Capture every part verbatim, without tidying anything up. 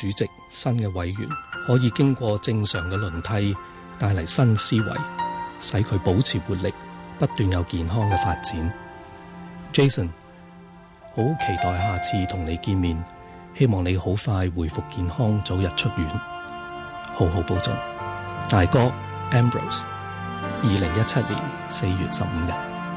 主席、新嘅委員可以經過正常嘅輪替，帶嚟新思維，使佢保持活力，不斷有健康嘅發展。Jason， 好期待下次同你見面，希望你好快恢復健康，早日出院，好好保重。大哥 Ambrose， 二零一七年四月十五日。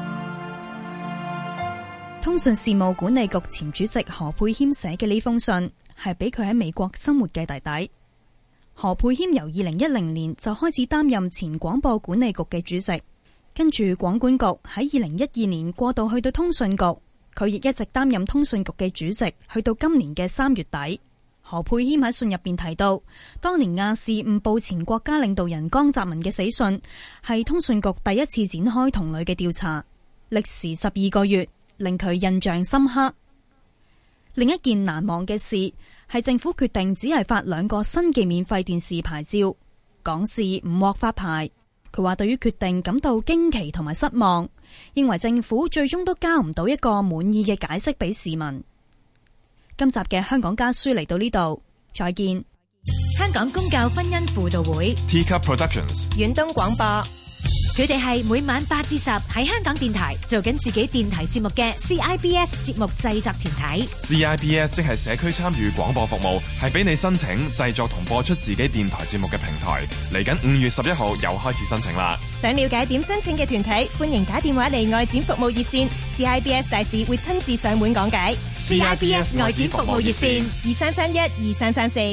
通訊事務管理局前主席何沛謙寫嘅呢封信，係俾佢喺美國生活嘅弟弟。何沛謙由二零一零年就開始擔任前廣播管理局嘅主席，跟住廣管局喺二零一二年過渡去到通訊局，佢亦一直擔任通訊局嘅主席，去到今年嘅三月底。何沛謙喺信入邊提到，當年亞視誤報前國家領導人江澤民嘅死訊，係通訊局第一次展開同類嘅調查，歷時十二個月，令佢印象深刻。另一件難忘嘅事係政府決定只係發兩個新嘅免費電視牌照，港視唔獲發牌。佢話對於決定感到驚奇同埋失望，認為政府最終都交唔到一個滿意嘅解釋俾市民。今集嘅香港家書嚟到呢度，再見。 香港公教婚姻輔導會 Teacup Productions 遠東廣播，佢哋係每晚八至十喺香港電台做緊自己電台節目嘅 C I B S 節目製作團體。 C I B S 即係社區參與廣播服務，係俾你申請製作同播出自己電台節目嘅平台。嚟緊五月十一號又開始申請啦。 想了解點申請嘅團體，歡迎打電話嚟外展服務熱線， C I B S 大使會親自上門講解。 C I B S 外展服務熱線二三三一二三三四。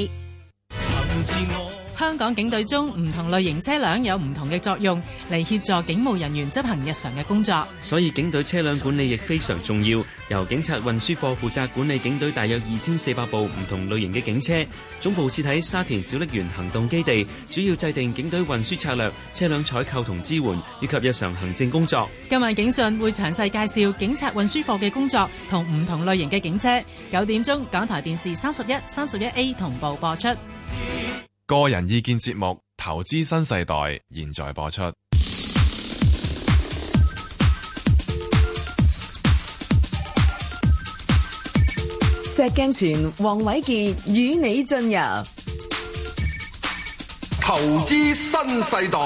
香港警隊中唔同類型車輛有唔同嘅作用，嚟協助警務人員執行日常嘅工作。 所以警隊車輛管理亦非常重要。由警察運輸課負責管理警隊大約二千四百部唔同類型嘅警車，總部設喺沙田小瀝源行動基地，主要制定警隊運輸策略、車輛採購同支援，以及日常行政工作。 今晚警訊會詳細介紹警察運輸課嘅工作同唔同類型嘅警車。九點鐘，港台電視三十一、三十一 A 同步播出。 個人意見節目《投資新世代》現在播出。 石鏡泉、黃偉傑與你進入《 投資新世代》。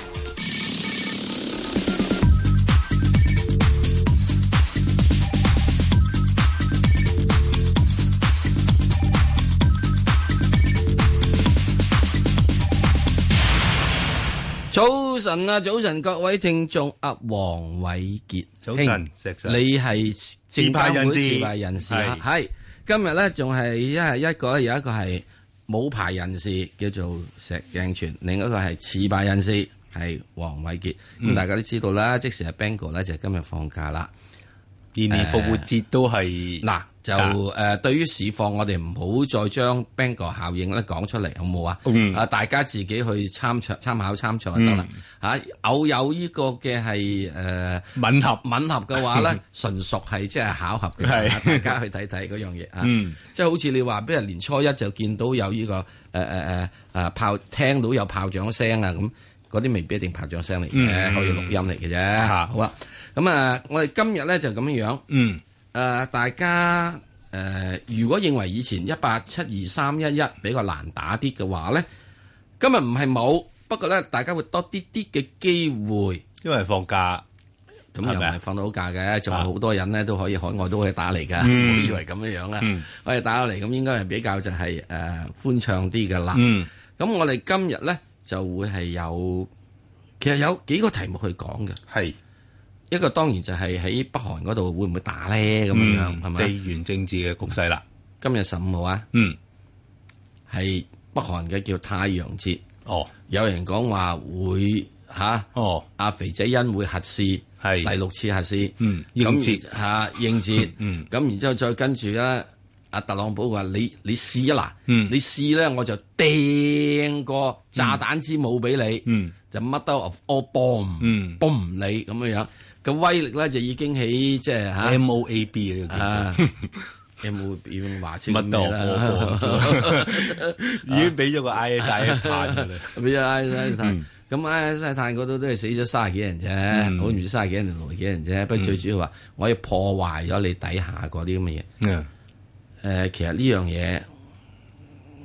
早晨啊，早晨各位聽眾，阿黃偉傑， 早晨，石 Sir， 你係證監會持牌人士啊？係今日咧，仲係一係一個有一個係冇牌人士叫做石鏡泉，另一個係持牌人士係黃偉傑。咁、嗯、大家都知道啦，即時係 Bango 咧就今日放假啦， 年年復活節都係嗱。就誒、呃，對於市況，我哋唔好再將 Bango 效應咧講出嚟，好冇啊？嗯、啊，大家自己去參詳、參考、參詳就得啦。嚇、嗯，偶有呢個嘅係誒吻合吻合嘅話咧，純屬係即係巧合嘅，大家去睇睇嗰樣嘢啊。嗯、即係好似你話，俾人年初一就見到有呢、呢個誒誒誒誒炮，聽到有炮仗聲啊，咁嗰啲未必一定炮仗聲嚟嘅，嗯、可以錄音嚟嘅啫。嗯、好啦，咁啊，我哋今日咧就咁樣樣。嗯。誒、呃，大家誒、呃，如果認為以前一八七二三一一比較難打啲嘅話咧，今日唔係冇，不過咧大家會多啲啲嘅機會， 因為放假， 咁又唔係放到假嘅，仲有好多人咧都可以海外都可以打嚟噶，唔好、嗯、以為咁樣樣啦，嗯、可以打到嚟，咁應該係比較就係誒歡暢啲噶啦。咁、嗯、我哋今日咧就會係有，其實有幾個題目去講嘅，係。一個當然就係喺北韓嗰度會唔會打咧咁樣樣係咪？ 地緣政治嘅局勢啦。 今日十五號啊，嗯，係北韓嘅叫太陽節。哦，有人講話會吓，啊、哦，阿肥仔恩會核試，係第六次核試，嗯，應節吓應節，嗯，咁然之後再跟住咧，阿特朗普話你你試啊嗱，嗯，你試咧我就掟個炸彈之母俾你，嗯，就 mother of all bomb，嗯，bomb 你咁樣樣。個威力咧就已經喺即係嚇 M O A B 啊 ，M O A B 話清咩啦？ 已經俾咗個 I S I 碳㗎啦， 俾咗 I S I 碳。咁 I S I 碳嗰度都係死咗卅幾人啫，好唔知卅幾人定六十幾人啫。不過最主要話，我要破壞咗你底下嗰啲咁嘅嘢。誒，其實呢樣嘢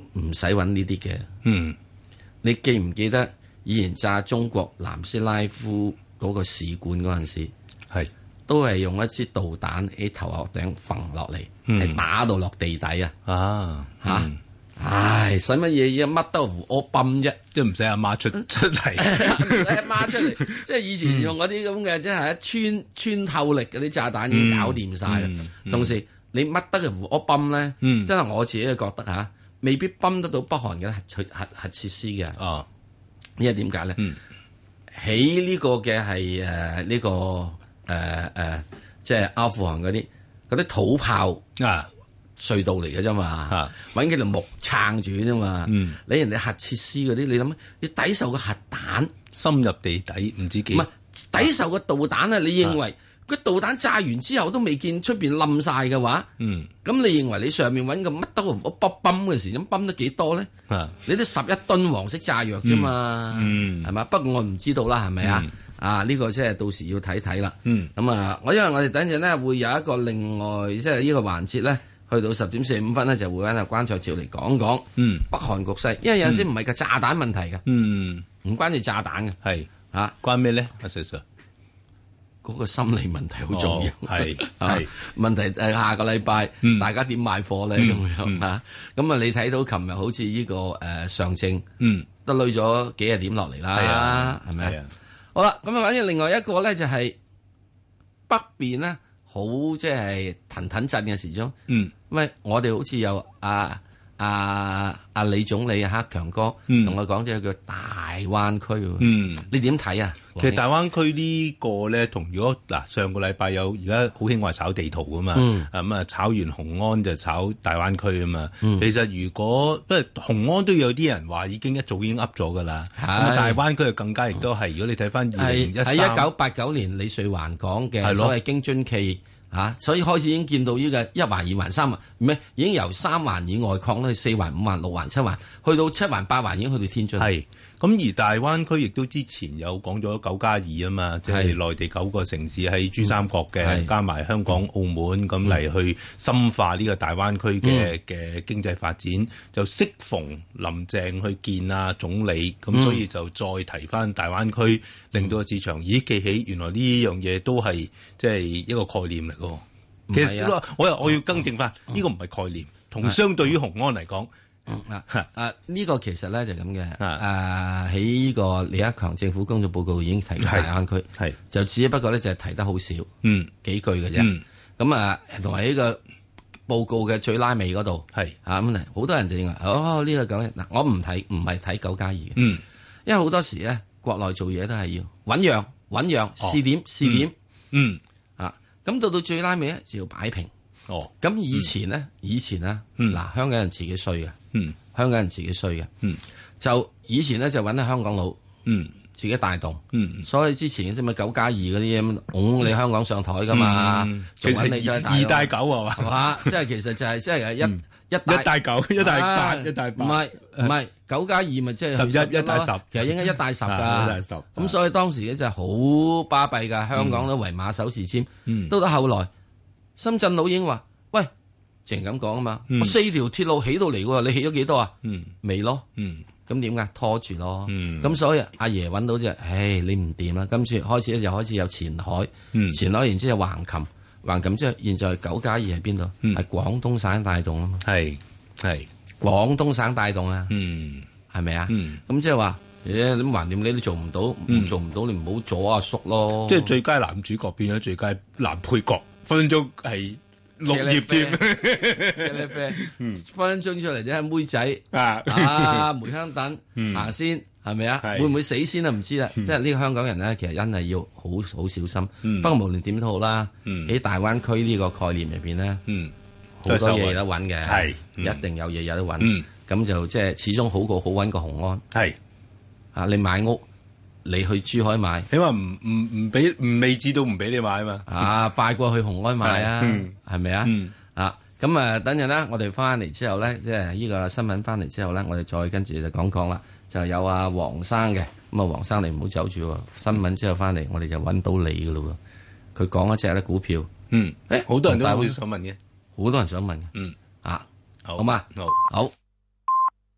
唔使揾呢啲嘅。 嗯， 你記唔記得以前炸中國南斯拉夫嗰個使館嗰陣時， 係都係用一支導彈喺頭殼頂揈落嚟，係、嗯、打到落地底啊！ 啊嚇！嗯唉，使乜嘢嘢乜都胡屙泵啫， 即係唔使阿媽出出嚟， 唔使阿媽出嚟，即係以前用嗰啲咁嘅，即係一穿穿透力嗰啲炸彈已經搞掂晒啦。嗯嗯、同時你乜得嘅胡屙泵咧，嗯、真係我自己覺得嚇、啊，未必泵得到北韓嘅核核核設施嘅。哦，因為點解咧？喺呢、嗯、個嘅係誒呢個誒誒、呃呃，即係阿富汗嗰啲嗰啲土炮啊。隧道嚟嘅啫嘛，揾幾條木撐住啫嘛。嗯、你人哋核設施嗰啲，你諗你抵受個核彈深入地底唔知幾？ 唔係抵受個導彈啊！你認為個導彈炸完之後都未見出邊冧晒嘅話，咁、嗯、你認為你上面揾個乜都我泵泵嘅時，咁泵得幾多咧？啊、你都十一噸黃色炸藥啫嘛，係嘛、嗯？不過我唔知道啦，係咪啊？嗯、啊，呢、呢個即係到時要睇睇啦。咁、嗯、啊，我因為我哋等陣咧會有一個另外即係呢個環節咧。去到十點四十五分咧，就會揾阿關卓照嚟講講北韓局勢，因為有陣時唔係個炸彈問題嘅，唔、嗯、關住炸彈嘅，係嚇、啊、關咩咧？阿 Sir， 嗰個心理問題好重要，係係、哦啊、問題誒下個禮拜、嗯、大家點買貨咧咁、嗯、樣嚇？咁啊你睇到琴日好似呢、這個誒、呃、上證，嗯，都累咗幾廿點落嚟啦，係咪啊？好啦，咁啊反正另外一個咧就係、是、北邊咧。好即係騰騰震嘅時鐘，嗯，喂，我哋好似有阿阿阿李總理啊，克強哥，同我講咗叫大灣區，嗯，你點睇啊？ 其實大灣區呢個咧，同如果嗱上個禮拜有而家好興話炒地圖噶嘛，咁啊、嗯、炒完雄安就炒大灣區啊嘛。嗯、其實如果不過雄安都有啲人話已經一早已經噏咗噶啦，咁啊是大灣區就更加亦都係。如果你睇翻二零一三喺一九八九年李瑞環講嘅所謂京津冀嚇，所以開始已經見到呢個一環、二環、三環，唔係已經由三環以外擴到去四環、五環、六環、七環，去到七環、八環已經去到天津。 係。咁而大灣區亦都之前有講咗九加二啊嘛，即係內地九個城市喺珠三角嘅，嗯、加埋香港、澳門咁嚟去深化呢個大灣區嘅嘅、嗯、經濟發展，就適逢林鄭去見啊總理，咁、嗯、所以就再提翻大灣區，令到個市場咦記起原來呢樣嘢都係即係一個概念嚟嘅。其實、啊、我又我要更正翻，呢、嗯、個唔係概念，同相對於雄安嚟講。 啊啊！呢個其實咧就咁嘅，誒喺呢個李克強政府工作報告已經提過大灣區，係就只不過咧就係提得好少，嗯幾句嘅啫。咁啊，同埋呢個報告嘅最拉尾嗰度，係啊咁好多人就認為哦呢個咁嗱，我唔睇唔係睇九加二嘅，嗯，因為好多時咧國內做嘢都係要醞釀醞釀試點試點，嗯啊，咁到到最拉尾咧就要擺平。哦，咁以前咧，以前咧，嗱，香港人自己衰嘅，嗯，香港人自己衰嘅，嗯，就以前咧就揾啲香港佬，嗯，自己帶動，嗯，所以之前即係咪九加二嗰啲咁，拱你香港上台噶嘛，仲揾你再帶二帶九係嘛， 係嘛，即係其實就係即係一一一帶九一帶八一帶八， 唔係唔係九加二咪即係十一一帶十， 其實應該一帶十噶，咁所以當時咧就係好巴閉噶，香港都為馬首是瞻，到到後來。深圳佬已經話：喂，淨係咁講啊嘛，我四條鐵路起到嚟喎，你起咗幾多啊？未咯，咁點解拖住咯？咁所以阿爺揾到就，唉，你唔掂啦。今次開始咧就開始有前海，前海然之後橫琴，橫琴之後現在九加二喺邊度？係廣東省帶動啊嘛。係係廣東省帶動啊，係咪啊？咁即係話，誒，你橫掂你都做唔到，唔做唔到你唔好阻阿叔咯。 即係最佳男主角變咗最佳男配角。分分鐘係綠葉添， 分分鐘出嚟啫，妹仔啊，啊梅香等行先係咪啊？會唔會死先啊？唔知啦。即係呢個香港人咧，其實真係要好好小心。不過無論點都好啦，喺大灣區呢個概念入邊咧，好多嘢有得揾嘅，係一定有嘢有得揾。咁就即係始終好過好揾過雄安。係啊，你買屋。你去珠海買， 起碼唔唔唔俾唔未知道唔俾你買啊嘛， 啊快過去雄安買啊，係咪啊？啊咁啊，等陣啦，我哋翻嚟之後咧，即係呢個新聞翻嚟之後咧，我哋再跟住就講講啦。就有阿黃生嘅，咁啊黃生你唔好走住喎，新聞之後翻嚟，我哋就揾到你噶咯喎。佢講一隻咧股票， 嗯，誒好多人都好想問嘅， 好多人想問嘅，嗯啊，好嘛，好。好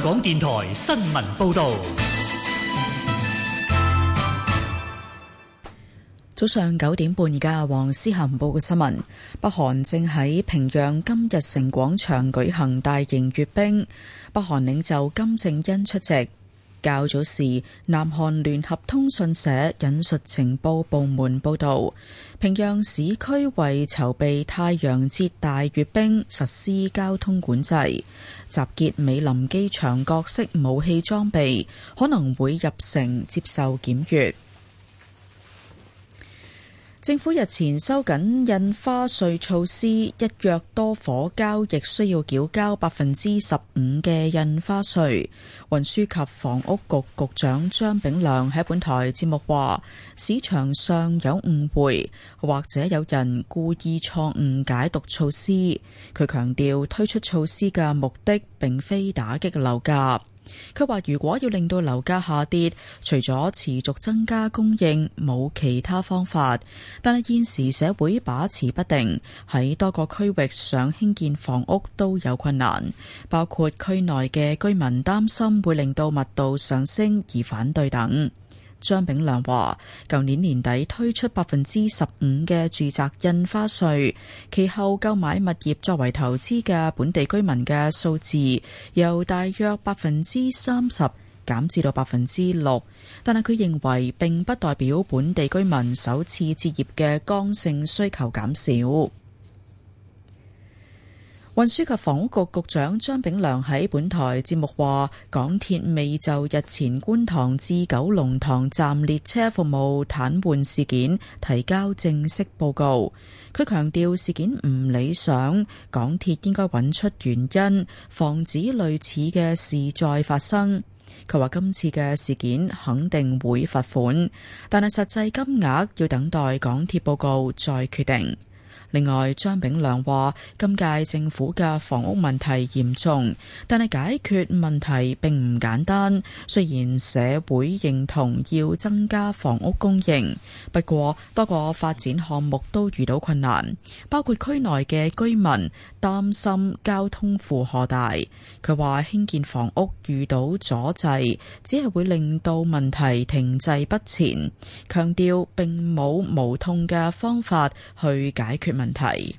港電台新聞報道。 早上九點半，而家黃思涵報嘅新聞。北韓正喺平壤金日成廣場舉行大型閱兵，北韓領袖金正恩出席。較早時，南韓聯合通訊社引述情報部門報道，平壤市區為籌備太陽節大閱兵實施交通管制，集結美林機場各式武器裝備，可能會入城接受檢閱。政府日前收緊印花稅措施，一約多伙交易需要繳交百分之十五嘅印花稅。運輸及房屋局局長張炳良喺本台節目話，市場上有誤會，或者有人故意錯誤解讀措施。佢強調推出措施嘅目的並非打擊樓價。佢話如果要令到樓價下跌，除咗持續增加供應，冇其他方法。但係現時社會把持不定，喺多個區域上興建房屋都有困難，包括區內嘅居民擔心會令到密度上升而反對等。張炳良話，舊年年底推出百分之十五嘅住宅印花稅，其後購買物業作為投資嘅本地居民嘅數字由大約百分之三十減至到百分之六，但係佢認為並不代表本地居民首次置業嘅剛性需求減少。運輸及房屋局局長張炳良喺本台節目話，港鐵未就日前觀塘至九龍塘站列車服務癱瘓事件提交正式報告。佢強調事件唔理想，港鐵應該揾出原因，防止類似嘅事再發生。佢話今次嘅事件肯定會罰款，但係實際金額要等待港鐵報告再決定。另外，張炳良話今屆政府嘅房屋問題嚴重，但係解決問題並唔簡單。雖然社會認同要增加房屋供應，不過多個發展項目都遇到困難，包括區內嘅居民擔心交通負荷大。佢話興建房屋遇到阻滯，只係會令到問題停滯不前，強調並冇無痛嘅方法去解決問題。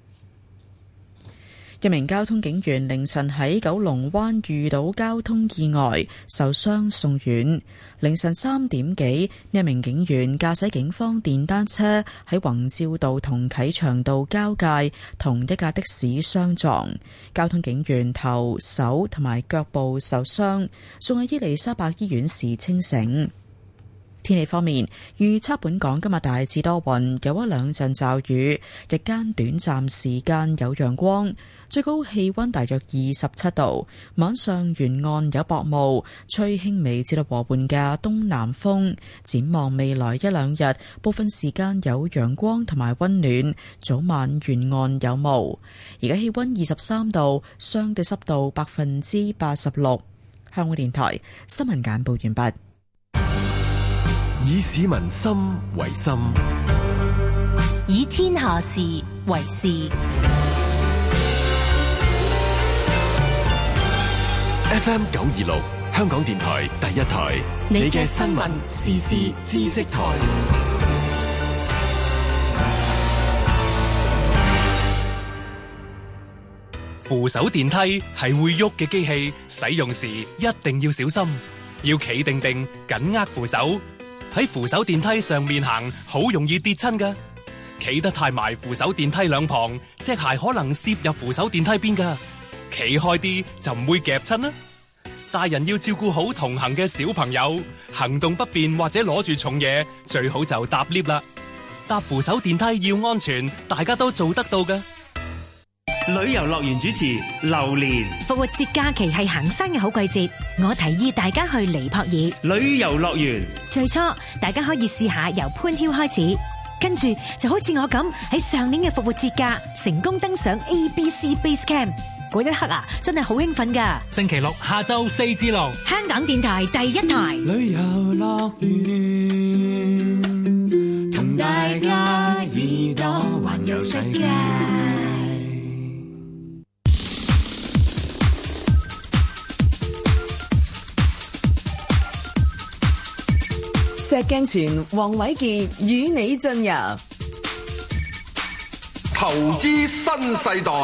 一名交通警員凌晨喺九龍灣遇到交通意外，受傷送院。凌晨三點幾，呢一名警員駕駛警方電單車喺宏照道同啟祥道交界，同一架的士相撞。交通警員頭、手同埋腳部受傷，送去伊利沙伯醫院時清醒。天氣方面，預測本港今日大致多雲，有一兩陣驟雨，日間短暫時間有陽光，最高氣溫大約二十七度。晚上沿岸有薄霧，吹輕微至到和緩嘅東南風。展望未來一兩日，部分時間有陽光同埋溫暖，早晚沿岸有霧。而家氣溫二十三度，相對濕度百分之八十六。香港電台新聞簡報完畢。 以市民心為心， 以天下事為事。 F M 九二六，香港電台第一台，你嘅新聞時事知識台。 扶手電梯係會喐嘅機器，使用時一定要小心，要企定定，緊握扶手。喺扶手電梯上面行，好容易跌親㗎。企得太埋扶手電梯兩旁，隻鞋可能攝入扶手電梯邊㗎。企開啲就唔會夾親啦。大人要照顧好同行嘅小朋友，行動不便或者攞住重嘢，最好就搭 lift 啦。搭扶手電梯要安全，大家都做得到㗎。 旅遊樂園主持榴蓮。 復活節假期係行山嘅好季節，我提議大家去尼泊爾旅遊樂園。 最初大家可以試下由潘囂開始，跟住就好似我咁喺上年嘅復活節假成功登上 A B C Base Camp， 嗰一刻啊真係好興奮噶。 星期六下晝四至六， 香港電台第一台旅遊樂園，同大家耳朵環遊世界。 石鏡泉黃偉傑與你進入投資新世代。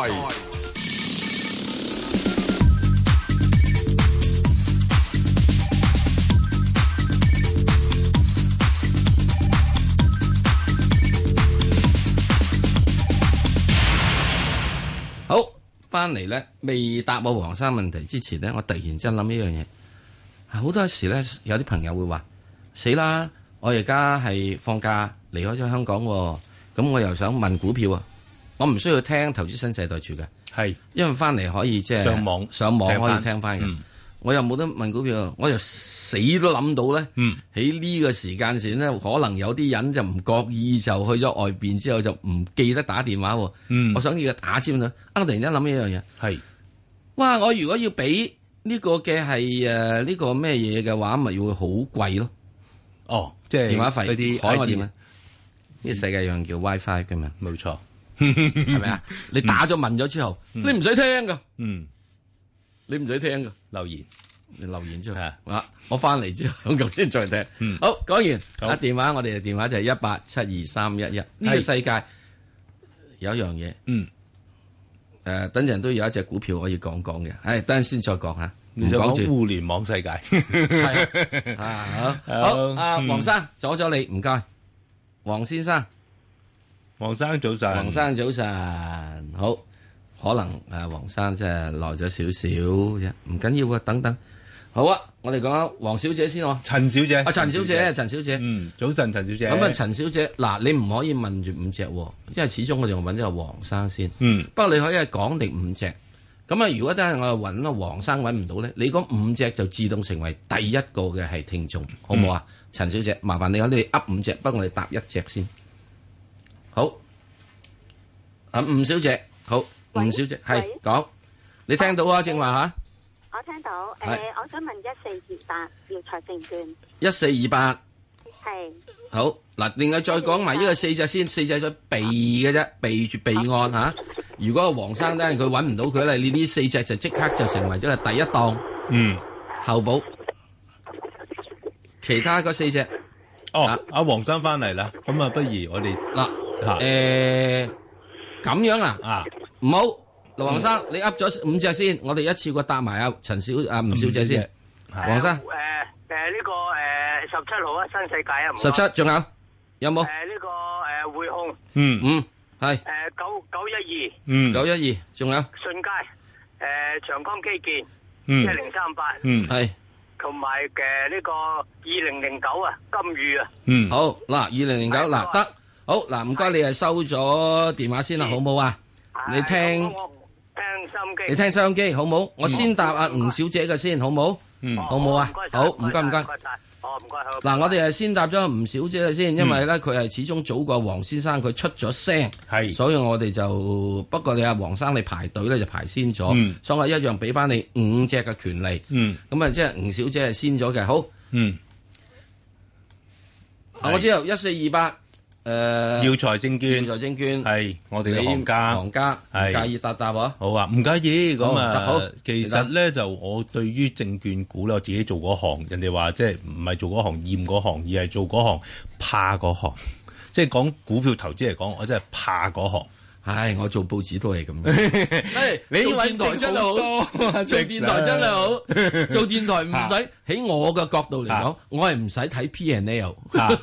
好，翻嚟咧，未答我黃生問題之前咧，我突然之間諗一樣嘢。好多時咧，有啲朋友會話：死啦！我而家係放假離開咗香港，咁我又想問股票啊！我唔需要聽投資新世代住嘅， 係因為翻嚟可以即係上網上網可以聽翻嘅。 嗯、 我又冇得問股票，我又死都諗到咧。喺呢、嗯、個時間線咧，可能有啲人就唔覺意就去咗外邊之後就唔記得打電話。嗯、我想要打尖啦，啊！突然間諗一樣嘢，係哇！我如果要俾呢個嘅係誒呢個咩嘢嘅話，咪會好貴咯。哦，即係電話費嗰啲海外電話，呢個世界有樣叫 WiFi 嘅嘛，冇錯，係咪啊？你打咗問咗之後，你唔使聽噶，嗯，你唔使聽噶，留言，你留言之後，啊，我翻嚟之後咁先再聽。嗯，好，講完，啊電話，我哋嘅電話就係一八七二三一一。呢個世界有一樣嘢，嗯。誒，等陣都有一隻股票可以講講嘅，係等陣先再講吓。 你想講互聯網世界？ 係啊，好，好，阿黃生阻咗你，唔該，黃先生， 黃生早晨， 黃生早晨，好，可能誒，黃生即係耐咗少少啫，唔緊要啊，等等。好啊，我哋講下黃小姐先喎。 陳小姐， 啊，陳小姐，陳小姐， 嗯，早晨，陳小姐。 咁啊，陳小姐，嗱，你唔可以問住五隻，因為始終我哋揾咗個黃生先。 嗯。 不過你可以係講定五隻。咁啊，如果真係我揾個黃生揾唔到咧，你嗰五隻就自動成為第一個嘅係聽眾，好唔好啊？陳小姐，麻煩你我哋噏五隻，不過我哋答一隻先。好。啊，吳小姐，好，吳小姐，係講，你聽到啊？正話吓。 我聽到，誒、呃，我想問一四二八耀才證券。 一四二八。 係。 好，嗱，另外再講埋呢個四隻先，四隻咗備嘅啫，備住備案吓。如果個黃生咧佢揾唔到佢咧，你呢四隻就即刻就成為咗係第一檔。嗯。後補。其他嗰四隻。 哦，阿黃生翻嚟啦，咁啊，不如我哋嗱，誒，咁樣啊？啊，唔好。盧黃生，你噏咗五隻先，我哋一次過答埋阿陳小阿吳小姐先。黃生，誒誒呢個誒十七號啊，新世界啊， 十七仲有有冇？誒呢個誒匯控， 嗯嗯係。誒九九一二， 嗯九一二，仲有信佳，誒長江基建， 嗯一零三八， 嗯係， 同埋嘅呢個二零零九啊，金隅啊， 嗯好嗱，二零零九嗱得，好嗱唔該你係收咗電話先啦，好唔好啊？你聽。 聽收音機， 你聽收音機好冇？我先答阿吳小姐嘅先，好冇？嗯，好冇啊？好，唔該唔該。 哦，唔該好。 嗱，我哋係先答咗吳小姐嘅先，因為咧佢係始終早過黃先生，佢出咗聲，係，所以我哋就不過你阿黃生你排隊咧就排先咗，所以我一樣俾翻你五隻嘅權利。嗯，咁啊即係吳小姐係先咗嘅，好。嗯，我知道一四二八。誒， 耀才證券， 耀才證券係我哋嘅行家， 行家唔介意答答喎？ 好啊，唔介意。咁啊，其實咧就我對於證券股咧，我自己做嗰行，人哋話即係唔係做嗰行厭嗰行，而係做嗰行怕嗰行。即係講股票投資嚟講，我真係怕嗰行。 唉，我做報紙都係咁。誒，你做電台真係好，做電台真係好，做電台唔使喺我嘅角度嚟講，我係唔使睇 P and L。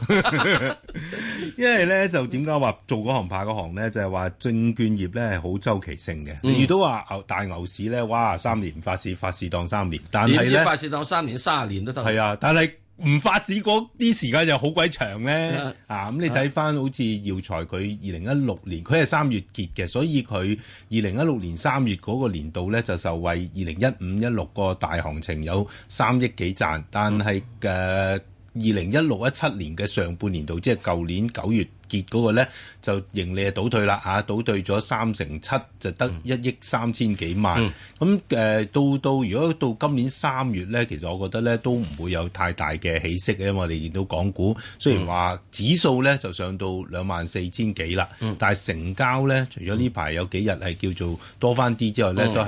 因為咧就點解話做嗰行怕嗰行咧？就係話證券業咧係好周期性嘅。你遇到話牛大牛市咧，哇，三年發市，發市當三年，但係咧發市當三年、三十年都得。 係啊，但係。唔發市嗰啲時間又好鬼長咧，啊咁你睇翻好似耀才佢二零一六年，佢係三月結嘅，所以佢二零一六年三月嗰個年度咧就受惠二零一五一六個大行情有三億幾賺，但係嘅二零一六一七年嘅上半年度，即係舊年九月結嗰個咧，就盈利係倒退啦嚇，倒退咗三成七，就得一億三千幾萬。咁誒到到如果到今年三月咧，其實我覺得咧都唔會有太大嘅起色嘅，因為我哋見到港股雖然話指數咧就上到兩萬四千幾啦，但係成交咧除咗呢排有幾日係叫做多翻啲之外咧，都係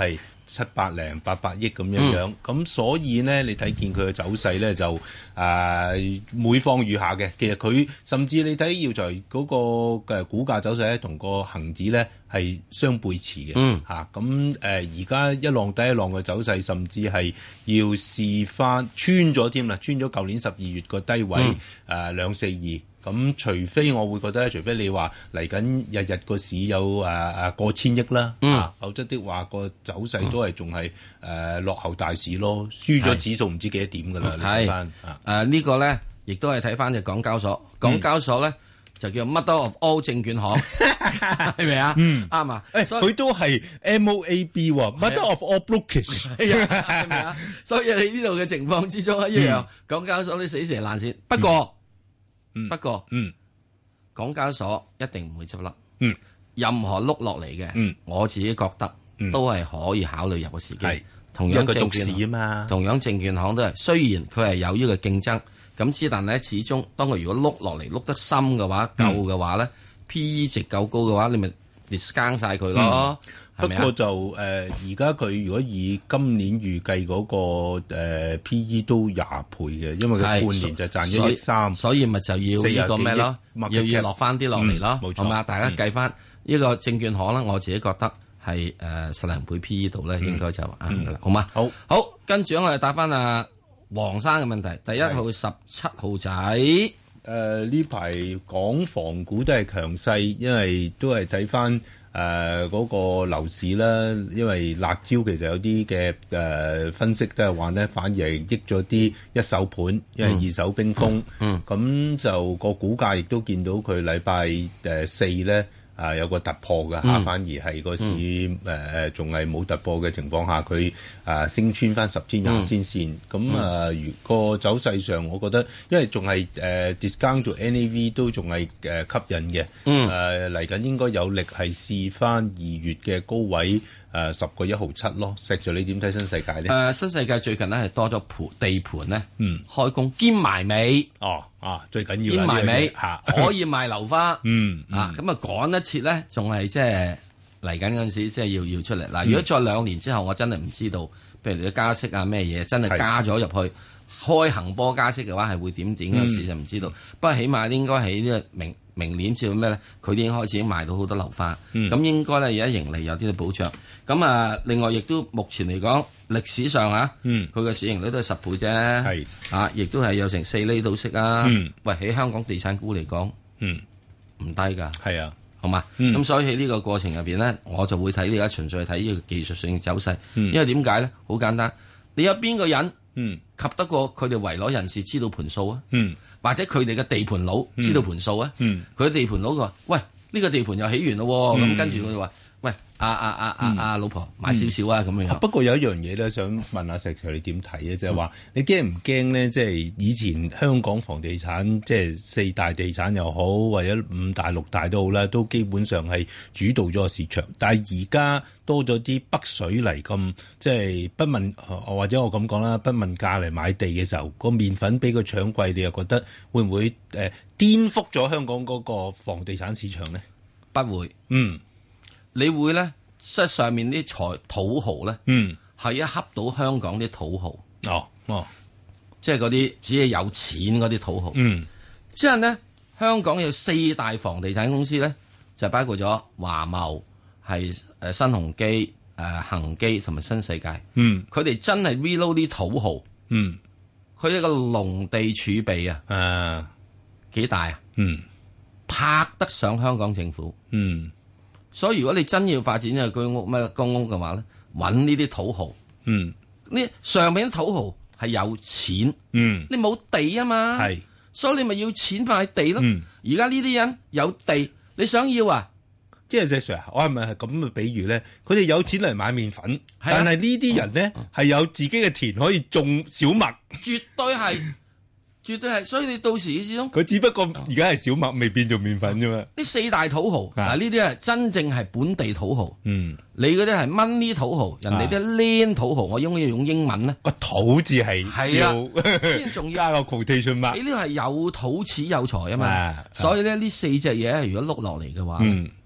七百零八百億咁樣樣，咁、嗯、所以呢，你睇見佢嘅走勢咧就誒、呃、每況愈下嘅。其實佢甚至你睇耀才嗰個嘅股價走勢咧，同個恒指咧係相背馳嘅。嗯，嚇咁誒而家一浪低一浪嘅走勢，甚至係要試翻穿咗添啦，穿咗舊年十二月個低位誒兩四二。咁除非我會覺得咧，除非你話嚟緊日日個市有誒誒過千億啦，嗯、啊，否則的話個走勢都係仲係誒落後大市咯，輸咗指數唔知幾多點㗎啦。你睇翻誒呢個咧，亦都係睇翻隻港交所，港交所咧、嗯、就叫 Mother of All 證券行，係咪啊？嗯，啱啊。誒，佢都係 M O A B 喎 ，Mother of All Brokers， 係啊，係咪啊？所以你呢度嘅情況之中一樣，嗯、港交所啲死蛇爛鱔，不過。嗯嗯、不過，嗯，港交所一定唔會執笠。嗯，任何碌落嚟嘅，嗯，我自己覺得、嗯、都係可以考慮入個時機。係，同樣證券啊嘛，同樣證券行都係。雖然佢係有呢個競爭，咁之但咧，始終當佢如果碌落嚟碌得深嘅話，夠嘅話咧、嗯、，P E 值夠高嘅話，你咪 discount 晒佢咯。嗯不過就誒，而家佢如果以今年預計嗰、那個、呃、P E 都廿倍嘅，因為佢半年就賺一億三， 所以咪就要呢個咩咯，要要落翻啲落嚟咯，冇、嗯、錯嘛？大家計翻呢個證券行啦，我自己覺得係誒十零倍 P E 度咧，應該就啱噶啦，好嘛？好，好，跟住我哋答翻阿黃生嘅問題，第一號十七號仔，誒呢排港房股都係強勢，因為都係睇翻。誒嗰、呃那個樓市啦，因為辣椒其實有啲嘅誒分析都係話咧，反而係益咗啲一手盤，因為二手冰封。嗯，咁、嗯、就個股價亦都見到佢禮拜誒四咧啊有個突破㗎嚇、嗯，反而係個市誒誒仲係冇突破嘅情況下，佢啊升穿翻十天廿天線。咁、嗯、啊，如個走勢上，我覺得因為仲係誒 discount to N A V 都仲係誒吸引嘅。嗯，誒嚟緊應該有力係試翻二月嘅高位誒十個一毫七咯。石 Sir 你點睇新世界咧？誒、 呃、新世界最近咧係多咗盤地盤咧，嗯，開工兼埋尾。 哦。啊，最緊要兼埋尾嚇，可以賣樓花，嗯啊，咁啊趕一切咧，仲係即係嚟緊嗰陣時，即係要要出嚟。嗱，如果再兩年之後，我真係唔知道，譬如你加息啊咩嘢，真係加咗入去，開行波加息嘅話，係會點點嗰時就唔知道。不過起碼應該喺呢個明明年至到咩咧，佢已經開始賣到好多樓花，咁、嗯、應該咧而家盈利有啲嘅保障。咁啊，另外亦都目前嚟講，歷史上啊，佢嘅市盈率都係十倍啫，係啊，亦都係有成四厘到息啊。嗯、喂，喺香港地產股嚟講，唔、嗯、低㗎，係啊，好嘛？咁、嗯、所以喺呢個過程入邊咧，我就會睇呢家純粹睇呢個技術性走勢、嗯，因為點解咧？好簡單，你有邊個人嗯及得過佢哋圍內人士知道盤數啊？嗯，或者佢哋嘅地盤佬知道盤數啊？嗯，佢地盤佬佢話：喂，呢、呢個地盤又起完咯，咁、嗯、跟住佢話。喂，阿阿阿阿阿老婆買少少啊，咁、嗯、樣。 不過有一樣嘢咧，想問下石 Sir 你點睇咧？就係、是、話你驚唔驚咧？即係以前香港房地產，即係四大地產又好，或者五大六大都好啦，都基本上係主導咗個市場。但係而家多咗啲北水嚟咁，即係不問，或者我咁講啦，不問價嚟買地嘅時候，個麵粉俾佢搶貴，你又覺得會唔會誒、呃、顛覆咗香港嗰個房地產市場咧？ 不會， 嗯。 你會咧，即係上面啲財土豪咧，嗯，係一恰到香港啲土豪， 哦哦， 即係嗰啲只係有錢嗰啲土豪，嗯，即係咧，香港有四大房地產公司咧，就包括咗華懋、係誒新鴻基、誒恒基同埋新世界，嗯，佢哋真係 reload 啲土豪，嗯，佢一個農地儲備啊，誒幾大啊，嗯，拍得上香港政府，嗯。所以如果你真要發展呢個居屋咩公屋嘅話咧，揾呢啲土豪，嗯，呢上面啲土豪係有錢，嗯，你冇地啊嘛，係，所以你咪要錢買地咯。而家呢啲人有地，你想要啊？ 即係石 Sir，我係咪係咁嘅比喻咧？佢哋有錢嚟買麵粉，啊、但係呢啲人咧係、嗯、有自己嘅田可以種小麥， 絕對係。絕對係，所以你到時始終佢只不過而家係小麥未變做麵粉啫嘛。 呢四大土豪嗱，呢啲係真正係本地土豪。嗯，你嗰啲係 money 土豪，人哋啲 land 土豪，我應該要用英文咧。 個土字係係啊，先仲要加個 quotation mark。 你呢個係有土始有財啊嘛，所以咧呢四隻嘢如果碌落嚟嘅話，嗯，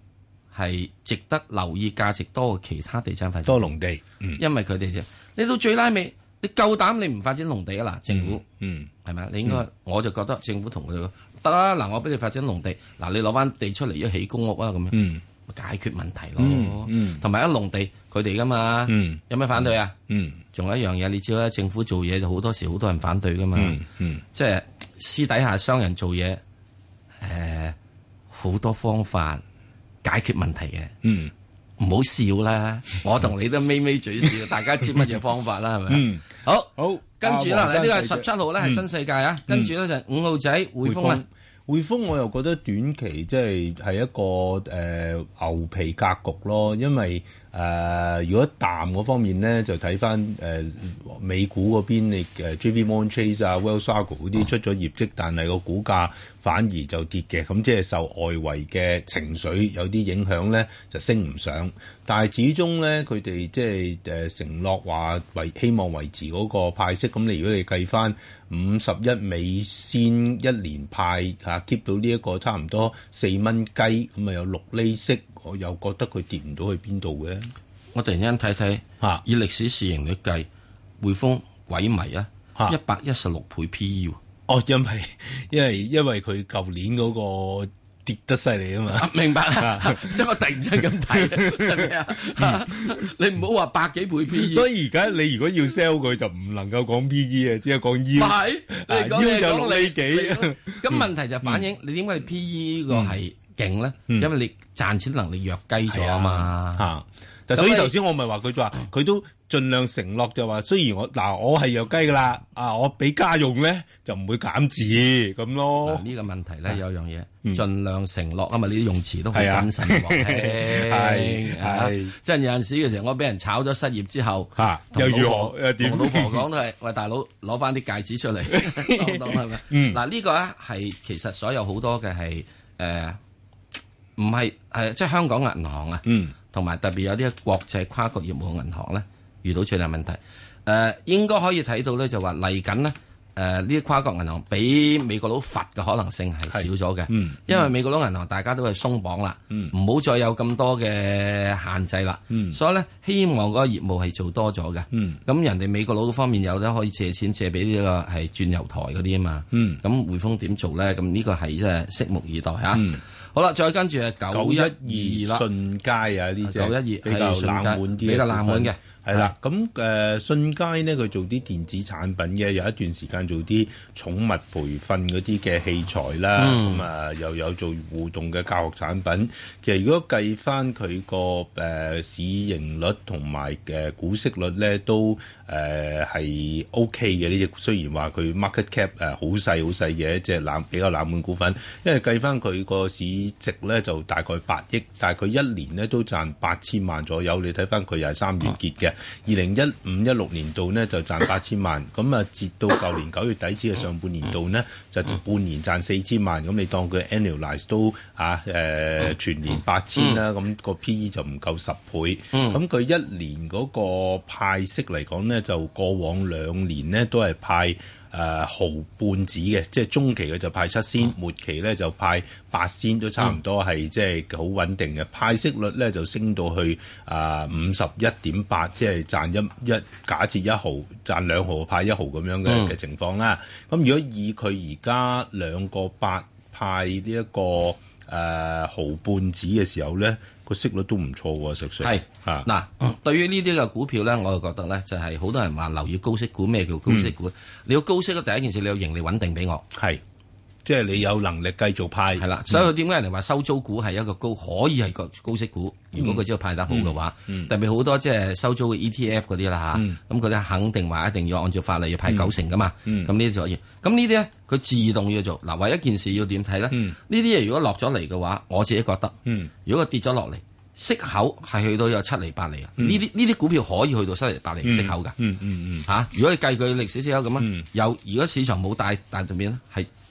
係值得留意，價值多過其他地產發展。 多農地，嗯， 因為佢哋就你到最拉尾，你夠膽你唔發展農地啊？嗱，政府， 嗯， 係咪？你應該， 嗯、 我就覺得政府同佢哋得啦。嗱，我俾你發展農地，嗱，你攞翻地出嚟一起公屋啊，咁樣， 嗯， 解決問題咯。 嗯嗯， 同埋一農地佢哋噶嘛， 嗯， 有咩反對啊？ 嗯， 仲有一樣嘢，你知啦，政府做嘢就好多時好多人反對噶嘛， 嗯嗯， 即係私底下商人做嘢，誒，好多方法解決問題嘅， 嗯。 唔好笑啦！我同你都咪咪嘴笑，大家知乜嘢方法啦？係咪？ 嗯， 好， 好， 跟住啦，呢個係十七號咧，係嗯新世界啊。跟住咧就五號仔匯豐啊。 匯豐我又覺得短期即係係一個誒、呃、牛皮格局咯，因為誒、呃、如果淡嗰方面咧，就睇翻誒美股嗰邊，你誒 J P Morgan Chase 啊、Wells Fargo 嗰啲出咗業績，但係個股價反而就跌嘅，咁即係受外圍嘅情緒有啲影響咧，就升唔上。但係始終咧，佢哋即係誒承諾話維希望維持嗰個派息，咁你如果你計翻五十一美仙一年派嚇 keep 到呢一個差唔多四蚊雞，咁啊有六厘息，我又覺得佢跌唔到去邊度嘅。 我突然間睇睇嚇，以歷史市盈率計，匯豐萎靡啊，一百一十六倍 P E。 哦，因為因為因為佢舊年嗰個跌得犀利啊嘛， 明白啊？即係我突然之間咁睇，係咪啊？你唔好話百幾倍 P E。 所以而家你如果要 sell 佢，就唔能夠講 P E 啊，只係講 yield。 唔係，你講就六厘幾。 咁問題就反映你點解 P E 個係勁咧？因為你賺錢能力弱雞咗啊嘛。 嚇！但所以頭先我咪話佢就話佢都盡量承諾就話，雖然我嗱我係弱雞噶啦，啊我俾家用咧就唔會減字咁咯。 呢個問題咧有樣嘢，盡量承諾啊嘛，你啲用詞都好謹慎喎。 係係， 即係有陣時嘅時候，我俾人炒咗失業之後， 嚇又如何又點？ 同老婆講都係，喂大佬攞翻啲戒指出嚟，當當係咪？嗱呢個咧係其實所有好多嘅係誒，唔係係即係香港銀行啊。 嗯。 同埋特別有啲國際跨國業務銀行咧，遇到最大問題，誒、呃、應該可以睇到咧，就話嚟緊呢，誒呢啲跨國銀行俾美國佬罰嘅可能性係少咗嘅，嗯、因為美國佬銀行大家都係鬆綁啦，唔好、嗯、再有咁多嘅限制啦，嗯、所以咧希望嗰個業務係做多咗嘅，咁、嗯、人哋美國佬方面有得可以借錢借俾呢個係轉油台嗰啲啊嘛，咁、嗯、匯豐點做咧？咁呢個係即係拭目以待嚇。嗯好啦，再跟住係九一二啦， 信佳啊呢隻九一二比較冷門啲， 比較冷門嘅。 係啦，咁誒信佳呢，佢做啲電子產品嘅，有一段時間做啲寵物培訓嗰啲嘅器材啦，咁啊、嗯、又有做互動嘅教學產品。其實如果計翻佢個誒市盈率同埋嘅股息率咧，都誒係 O K 嘅呢隻。雖然話佢 market cap 誒好細好細嘅一隻冷比較冷門股份，因為計翻佢個市值咧就大概八億，但係佢一年咧都賺八千萬左右。你睇翻佢又係三月結嘅。二零一五一六年度呢就賺八千萬，咁啊截到舊年九月底止嘅上半年度呢，就半年賺四千萬，咁你當佢 annualize 都啊誒、呃、全年八千啦，咁個 P E 就唔夠十倍，咁佢一年嗰個派息嚟講呢，就過往兩年呢都係派。誒、呃、毫半子嘅，即係中期嘅就派七仙，末期咧就派八仙，都差唔多係即係好穩定嘅。派息率咧就升到去啊五十一點八，即係賺一一假設一毫賺兩毫派一毫咁樣嘅嘅情況啦。咁、嗯、如果以佢而家兩個八派呢、這、一個誒、呃、毫半子嘅時候咧，個息率都唔錯喎，實際係啊嗱，嗯、對於呢啲嘅股票咧，我就覺得咧就係、是、好多人話留意高息股，咩叫高息股？嗯、你要高息嘅第一件事，你要盈利穩定俾我， 係即係你有能力繼續派係啦。所以點解人哋話收租股係一個高可以係個高息股？如果佢只要派得好嘅話，嗯嗯、特別好多即係收租嘅 E T F 嗰啲啦嚇，咁佢哋肯定話一定要按照法例要派九成噶嘛，咁呢啲就可以。咁呢啲咧佢自動要做嗱，唯一件事要點睇咧？呢啲嘢如果落咗嚟嘅話，我自己覺得，嗯、如果佢跌咗落嚟。息口係去到有七厘八厘啊！呢啲呢啲股票可以去到七厘八厘息口㗎。嗯嗯嗯嚇，如果你計佢歷史息口咁啊，有如果市場冇大大轉變咧，係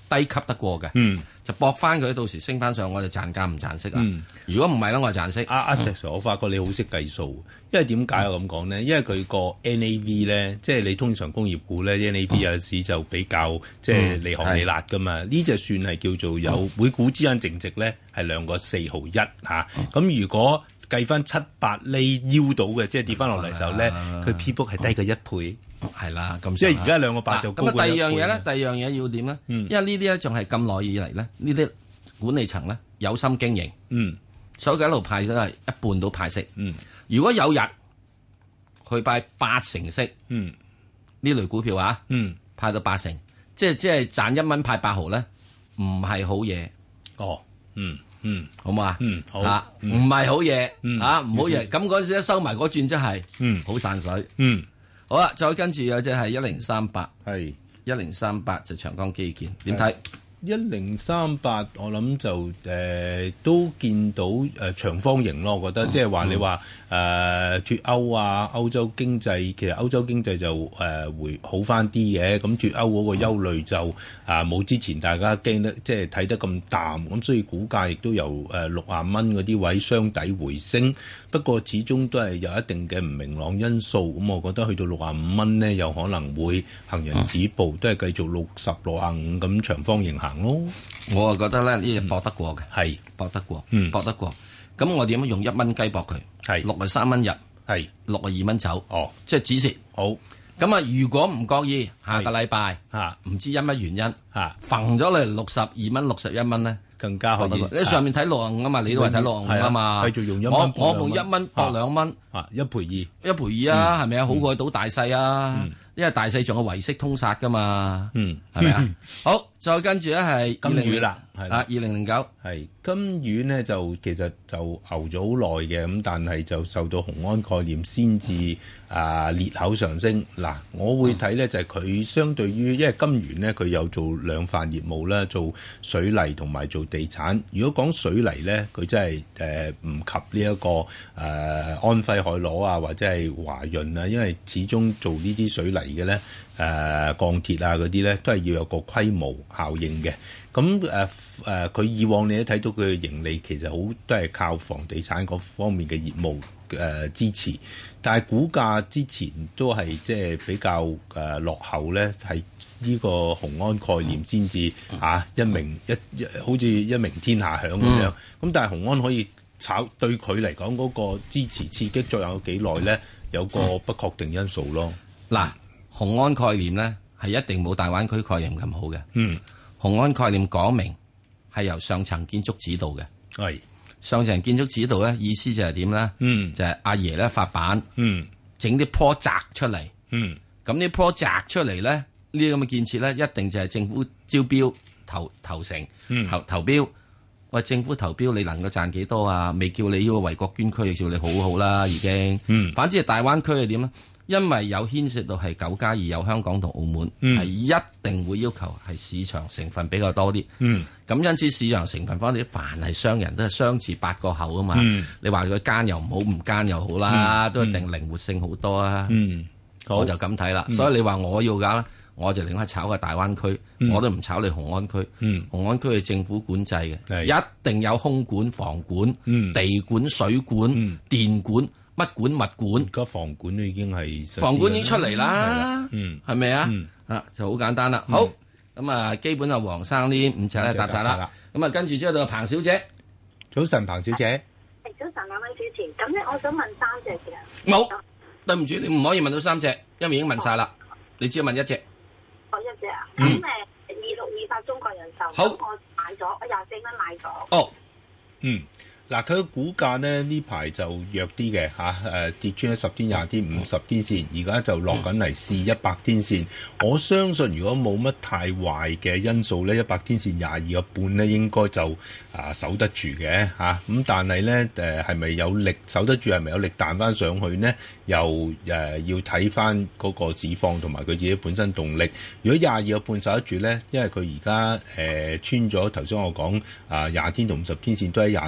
低級得過嘅， 嗯， 就搏翻佢，到時升翻上，我就賺價唔賺息啦。 嗯、 如果唔係咧，我就賺息。 阿阿石 Sir，我發覺你好識計數，因為點解我咁講呢？因為佢個 N A V 咧，即係你通常工業股咧 N A V 有時就比較即係離行離辣噶嘛。呢隻算係叫做有每股之間淨值咧係兩個四毫一嚇。咁如果計翻七八厘腰到嘅，即係跌翻落嚟時候咧，佢 P book 係低過一倍。 係啦，咁即係而家兩個八就高過一倍。 咁啊，第二樣嘢咧，第二樣嘢要點咧？ 嗯、 因為呢啲咧仲係咁耐以嚟咧，呢啲管理層咧有心經營， 嗯， 所以佢一路派都係一半到派息。 嗯， 如果有日佢派八成息， 嗯， 呢類股票啊， 嗯， 派到八成，即係即係賺一蚊派八毫咧，唔係好嘢。 哦，嗯。嗯， 好嘛？ 嗯，好嚇，唔係好嘢， 嗯嚇唔好嘢。咁嗰陣時一收埋嗰轉真係， 嗯， 好散水。 嗯， 好啦，再跟住有隻係一零三八， 係一零三八就長江基建，點睇？ 一零三八，我諗就誒、呃、都見到誒、呃、長方形咯，我覺得、嗯、即係話你話誒脱歐啊，歐洲經濟其實歐洲經濟就誒、呃、會好翻啲嘅，咁脱歐嗰個憂慮就啊冇、呃、之前大家驚得即係睇得咁淡，咁所以股價亦都由誒六十蚊嗰啲位雙底回升，不過始終都係有一定嘅唔明朗因素，咁我覺得去到六十五蚊呢，有可能會行人止步，嗯、都係繼續六十六十五咁長方形行咯。 我啊覺得咧呢隻搏得過嘅， 係、嗯、 搏得過， 嗯， 搏得過。咁我點樣用一蚊雞搏佢？ 係六十三蚊入， 係六十二蚊走。 哦， 即係止蝕。 好。 咁啊，如果唔覺意，下個禮拜嚇唔知因乜原因嚇， 揈咗嚟六十二蚊、六十一蚊咧， 更加可以。 你上面睇六十五啊嘛，你都係睇六十五啊嘛。 繼續用一蚊， 我我用一蚊搏兩蚊， 啊一賠二， 一賠二啊，係咪啊？好過賭大細啊，因為大細仲有維息通殺噶嘛， 嗯， 係咪啊？好，再跟住咧係金魚啦，係啊，二零零九係金魚呢，就其實就牛咗好耐嘅，咁但係就受到雄安概念先至啊裂口上升。嗱，我會睇呢，就係佢相對於，因為金魚呢，佢有做兩範業務啦，做水泥同埋做地產。如果講水泥呢，佢真係誒唔及呢、這、一個誒、呃、安徽海螺啊，或者係華潤啊，因為始終做呢啲水泥嘅呢，誒、呃、鋼鐵啊嗰啲呢，都係要有個規模效應嘅。咁誒誒，佢、呃、以往你都睇到佢嘅盈利其實好都係靠房地產嗰方面嘅業務誒、呃、支持，但係股價之前都係即係比較誒、呃、落後咧，係呢個雄安概念先至嚇一鳴一一好似一鳴天下響咁樣。咁、嗯、但係雄安可以炒對佢嚟講嗰個支持刺激作用有幾耐咧？有個不確定因素咯。 嗱，雄安概念咧係一定冇大灣區概念咁好嘅。 嗯。 雄安概念講明係由上層建築指導嘅， 係上層建築指導咧，意思就係點咧？ 嗯， 就係阿爺咧發版， 嗯， 整啲 project 出嚟， 嗯， 咁啲 project 出嚟咧，呢啲咁嘅建設咧，一定就係政府招標投投成， 嗯， 投投標，喂，政府投標你能夠賺幾多啊？未叫你呢個為國捐軀，叫你好好啦，已經， 嗯， 反之係大灣區係點咧？因為有牽涉到係九加二，有香港同澳門，係、 嗯、 一定會要求係市場成分比較多啲。 嗯， 咁因此市場成分方面，凡係商人都係雙字八個口啊嘛。 嗯、 你話佢奸又唔好，唔奸又好啦， 嗯、 都一定靈活性好多啊。 嗯， 我就咁睇啦。 嗯、 所以你話我要搞咧，我就寧可炒個大灣區， 嗯、 我都唔炒你雄安區。 嗯、 雄安區係政府管制嘅，一定有空管、房管、嗯、地管、水管、嗯、電管。乜管物管？ 而家房管都已經係房管已經出嚟啦， 嗯， 係咪啊？啊，就好簡單啦。好，咁啊，基本啊，黃生呢五隻咧答晒啦。咁啊，跟住之後到彭小姐， 早晨，彭小姐。 係早晨，兩位主持。咁咧，我想問三隻嘅。 冇，對唔住，你唔可以問到三隻，因為已經問晒啦。你只係問一隻。 哦，一隻啊。咁誒，二六二八中國人壽。 好。 我買咗，我廿四蚊買咗。 哦。嗯。嗱，佢嘅股價呢，呢排就弱啲嘅嚇，誒跌穿咗十天、廿天、五十天線，而家就落緊嚟試一百天線。我相信如果冇乜太壞嘅因素呢，一百天線廿二個半呢應該就啊守得住嘅嚇。咁但係呢，誒係咪有力守得住？係咪有力彈翻上去呢？又誒、呃、要睇翻嗰個市況同埋佢自己本身動力。如果廿二個半守得住呢，因為佢而家誒穿咗頭先我講啊廿天同五十天線都喺廿四蚊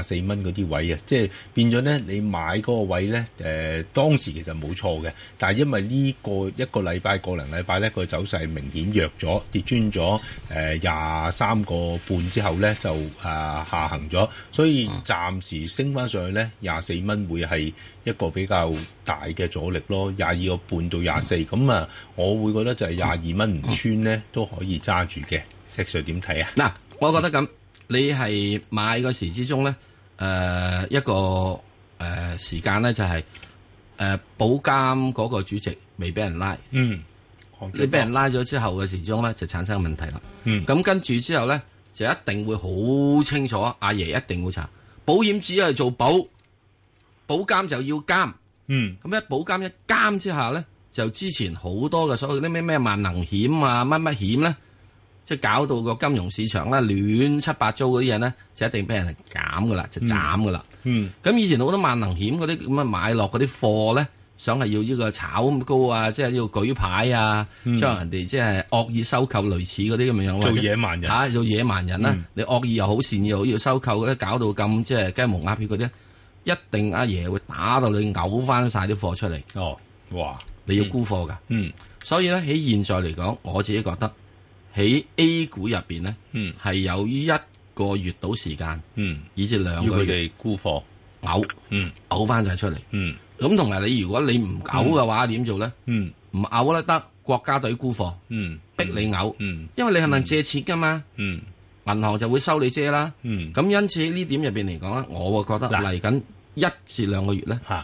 嗰啲位啊，即係變咗咧，你買嗰個位咧，誒、呃、當時其實冇錯嘅，但係因為呢個一個禮拜、個零禮拜咧，個走勢明顯弱咗，跌穿咗誒廿三個半之後咧，就誒、呃、下行咗，所以暫時升翻上去咧，廿四蚊會係一個比較大嘅阻力咯，廿二個半到廿四，咁啊，我會覺得就係廿二蚊唔穿咧都可以揸住嘅。石 Sir 點睇啊？ 嗱，我覺得咁，你係買嗰時之中咧，誒、呃、一個誒、呃、時間咧就係、是、誒、呃、保監嗰個主席未俾人拉， 嗯， 你俾人拉咗之後嘅時鐘咧就產生問題啦。 嗯， 咁跟住之後咧就一定會好清楚，阿爺一定會查保險只係做保，保監就要監。 嗯， 咁一保監一監之下咧，就之前好多嘅所謂啲咩咩萬能險啊乜乜險咧。即係搞到個金融市場咧亂七八糟嗰啲嘢咧，就一定俾人減噶啦，就斬噶啦。 嗯， 咁以前好多萬能險嗰啲咁嘅買落嗰啲貨咧，想係要呢個炒咁高啊，即係要舉牌啊， 嗯、 將人哋即係惡意收購類似嗰啲咁樣樣。 做野蠻人嚇、啊，做野蠻人啦！ 嗯、 你惡意又好，善意又好，要收購咧，搞到咁即係雞毛鴨血嗰啲，一定阿爺會打到你嘔翻晒啲貨出嚟。 哦，哇！ 你要沽貨㗎。 嗯， 所以咧喺現在嚟講，我自己覺得。喺 A 股入邊咧，係、嗯、有一個月到時間， 嗯， 以至兩個月，要佢哋沽貨， 嘔， 嗯， 嘔翻晒出嚟， 嗯， 咁同埋你如果你唔嘔嘅話，點、嗯、做咧？ 嗯， 唔嘔咧得國家隊沽貨， 嗯， 逼你嘔， 嗯， 因為你係咪借錢噶嘛， 嗯， 銀行就會收你借啦， 嗯， 咁因此呢點入邊嚟講咧，我會覺得嚟緊一至兩個月咧， 嚇。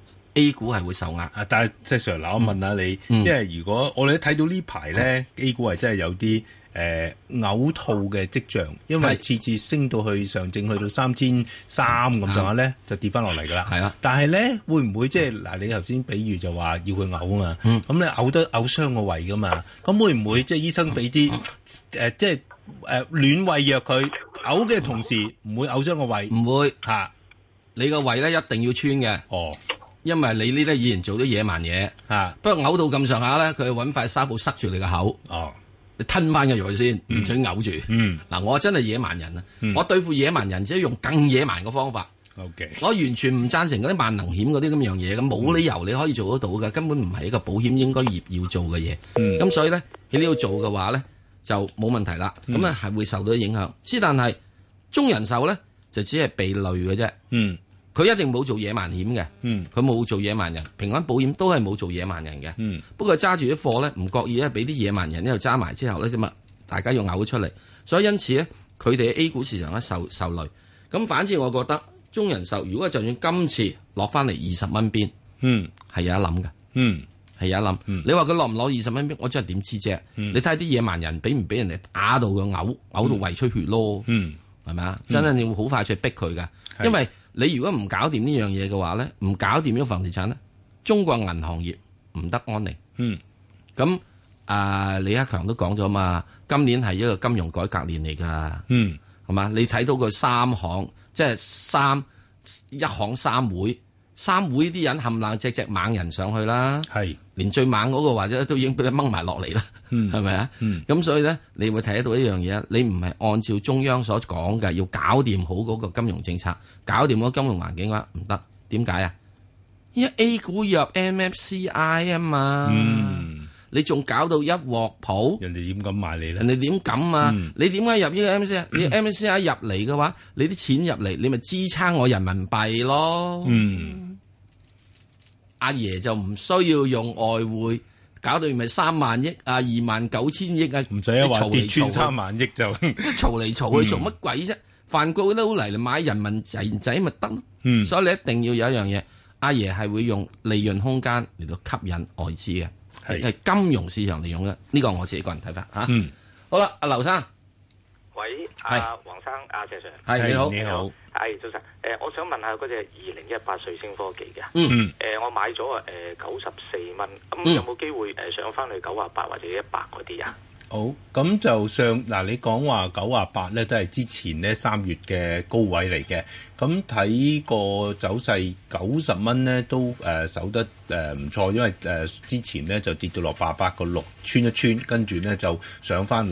A 股係會受壓， 啊！但係石 Sir，嗱，我問下你， 嗯、 因為如果我哋睇到呢排咧，A 股係真係有啲誒嘔吐嘅跡象，因為次次升到去上證去到三千三咁上下咧，就跌翻落嚟㗎啦。 係啊， 但係咧會唔會即係嗱？你頭先比喻就話要佢嘔啊嘛，咁你嘔得嘔傷個胃㗎嘛？咁會唔會即係醫生俾啲誒即係誒暖胃藥佢嘔嘅同時唔會嘔傷個胃？ 唔會嚇、啊， 你個胃咧一定要穿嘅。 哦。 因為你呢啲以前做咗野蠻嘢， 啊， 不過嘔到咁上下咧，佢揾塊紗布塞住你個口， 哦， 你吞翻個藥先，唔准嘔住。 嗯， 嗱，我真係野蠻人啊、 嗯！ 我對付野蠻人只係用更野蠻嘅方法。 OK， 我完全唔贊成嗰啲萬能險嗰啲咁樣嘢，咁冇理由你可以做得到嘅，根本唔係一個保險應該業要做嘅嘢。咁、嗯、所以咧喺呢度做嘅話咧就冇問題啦。咁啊係會受到影響，之但係中人壽咧就只係被累嘅啫。 嗯。 佢一定冇做野蠻險嘅， 嗯， 佢冇做野蠻人，平安保險都係冇做野蠻人嘅， 嗯， 不過揸住啲貨咧，唔覺意咧俾啲野蠻人呢度揸埋之後咧，咁啊，大家要嘔出嚟，所以因此咧，佢哋喺 A 股市場咧受受累。咁反之，我覺得中人壽如果就算今次落翻嚟二十蚊邊， 嗯， 係有一諗嘅， 嗯， 係有一諗、嗯。你話佢落唔落二十蚊邊，我真係點知啫、嗯？你睇下啲野蠻人俾唔俾人哋打到佢嘔，嘔到胃出血咯， 嗯， 係咪啊？真係你會好快出去逼佢噶，因為。你如果唔搞掂呢樣嘢嘅話咧，唔搞掂呢個房地產咧，中國銀行業唔得安寧。 嗯， 咁啊、呃，李克強都講咗嘛，今年係一個金融改革年嚟噶。 嗯， 係嘛？你睇到個三行，即係三一行三會，三會啲人冚唪唥隻隻猛人上去啦。 係， 連最猛嗰個或者都已經俾佢掹埋落嚟啦。 嗯， 係咪啊？ 嗯， 咁所以咧，你會睇得到一樣嘢，你唔係按照中央所講嘅，要搞掂好嗰個金融政策，搞掂嗰個金融環境嘅話，唔得。點解啊？因為 A 股入 M S C I 啊嘛。 嗯， 你仲搞到一鑊泡， 人哋點敢買你咧？ 人哋點敢啊？ 嗯、 你點解入呢個 M S C I？、嗯、你 M S C I 入嚟嘅話，你啲錢入嚟，你咪支撐我人民幣咯。 嗯， 阿爺就唔需要用外匯。搞到咪三萬億啊，二萬九千億啊， 唔使啊話跌穿三萬億就嘈嚟嘈去做乜鬼啫？梵高都嚟嚟買人民仔仔咪得咯。嗯，所以你一定要有一樣嘢，阿爺係會用利潤空間嚟到吸引外資嘅，係金融市場嚟用嘅。呢個我自己個人睇法吓。嗯，好啦，阿劉生， 喂，阿黃生，阿謝 Sir， 係你好， 你好。 係早晨，誒、呃，我想問下嗰隻二零一八瑞星科技嘅， 嗯， 誒、呃，我買咗誒九十四蚊，咁、呃、有冇機會誒、呃、上翻去九啊八或者一百嗰啲啊？ 好，咁就上嗱，你講話九啊八咧，都係之前呢三月嘅高位嚟嘅。咁睇個走勢，九十蚊咧都誒、呃、守得誒唔錯，因為誒、呃、之前咧就跌到落八百個六，穿一穿，跟住咧就上翻嚟。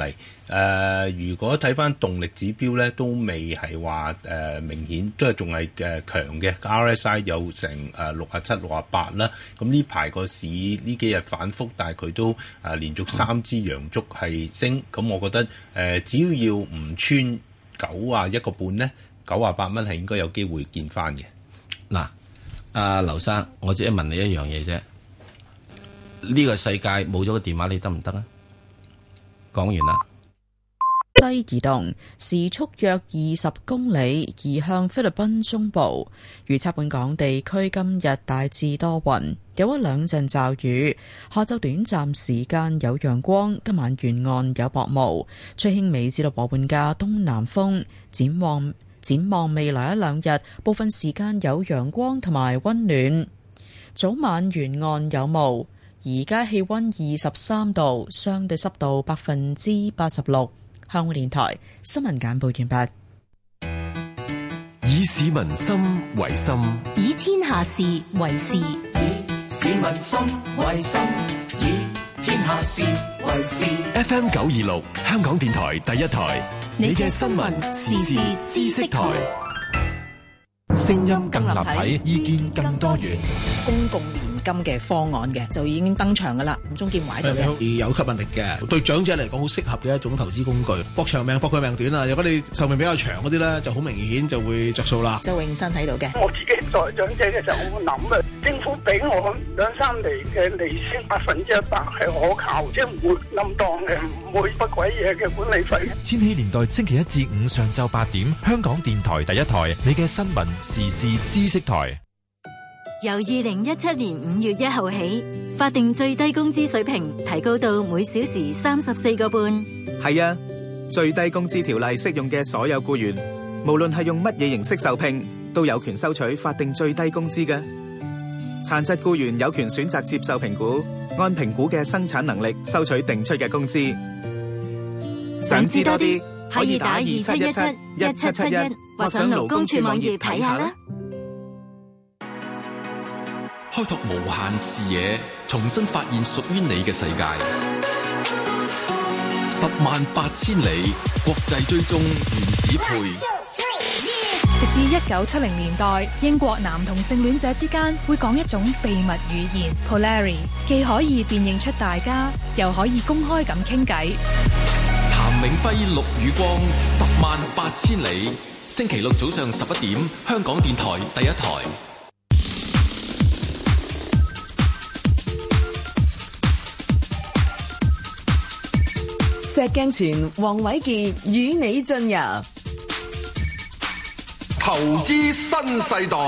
呃，如果睇翻動力指標咧，都未係話誒明顯，都係仲係誒強嘅。R S I 有成誒六啊七、六啊八啦。咁呢排個市呢幾日反覆，但係佢都誒、呃、連續三支陽燭係升。咁我覺得誒、呃，只要要唔穿九啊一個半咧，九啊八蚊係應該有機會見翻嘅。 嗱，阿劉生，我只係問你一樣嘢啫。呢、這個世界冇咗個電話，你得唔得啊？講完啦。 西移動時速約二十公里，移向菲律賓中部。預測本港地區今日大致多雲，有一兩陣驟雨。下晝短暫時間有陽光，今晚沿岸有薄霧，吹輕微至到和緩嘅東南風。展望展望未來一兩日，部分時間有陽光同埋溫暖，早晚沿岸有霧。而家氣溫二十三度，相對濕度百分之八十六。香港電台新聞簡報完畢。以市民心為心， 以天下事為事。 以市民心為心，以天下事為事。 F M 九二六，香港電台第一台，你嘅新聞時事知識台，聲音更立體，意見更多元。 公共年金嘅方案嘅就已經登場噶啦，鍾建華喺度嘅， 有吸引力嘅，對長者嚟講好適合嘅一種投資工具。搏長命搏佢命短啊！如果你壽命比較長嗰啲咧，就好明顯就會着數啦。 周永新喺度嘅， 我自己作為長者嘅時候，我諗啊，政府俾我兩三厘嘅利息，百分之一百係可靠，即係唔會冧檔嘅，唔會不鬼嘢嘅管理費。 千禧年代星期一至五上晝八點，香港電台第一台，你嘅新聞時事知識台。 由二零一七年五月一號起，法定最低工資水平提高到每小時三十四個半。 係啊，最低工資條例適用嘅所有僱員，無論係用乜嘢形式受聘，都有權收取法定最低工資嘅。殘疾僱員有權選擇接受評估，按評估嘅生產能力收取定出嘅工資。想知多啲，可以打二七一七一七七一，或上勞工處網頁睇下啦。 開拓無限視野，重新發現屬於你嘅世界。十萬八千里國際追蹤原子配。 直至一九七零年代，英國男同性戀者之間會講一種秘密語言 Polari， 既可以辨認出大家，又可以公開咁傾偈。 譚永輝、陸宇光，十萬八千里。星期六早上十一點，香港電台第一台。 石鏡泉、黃偉傑與你進入投資新世代。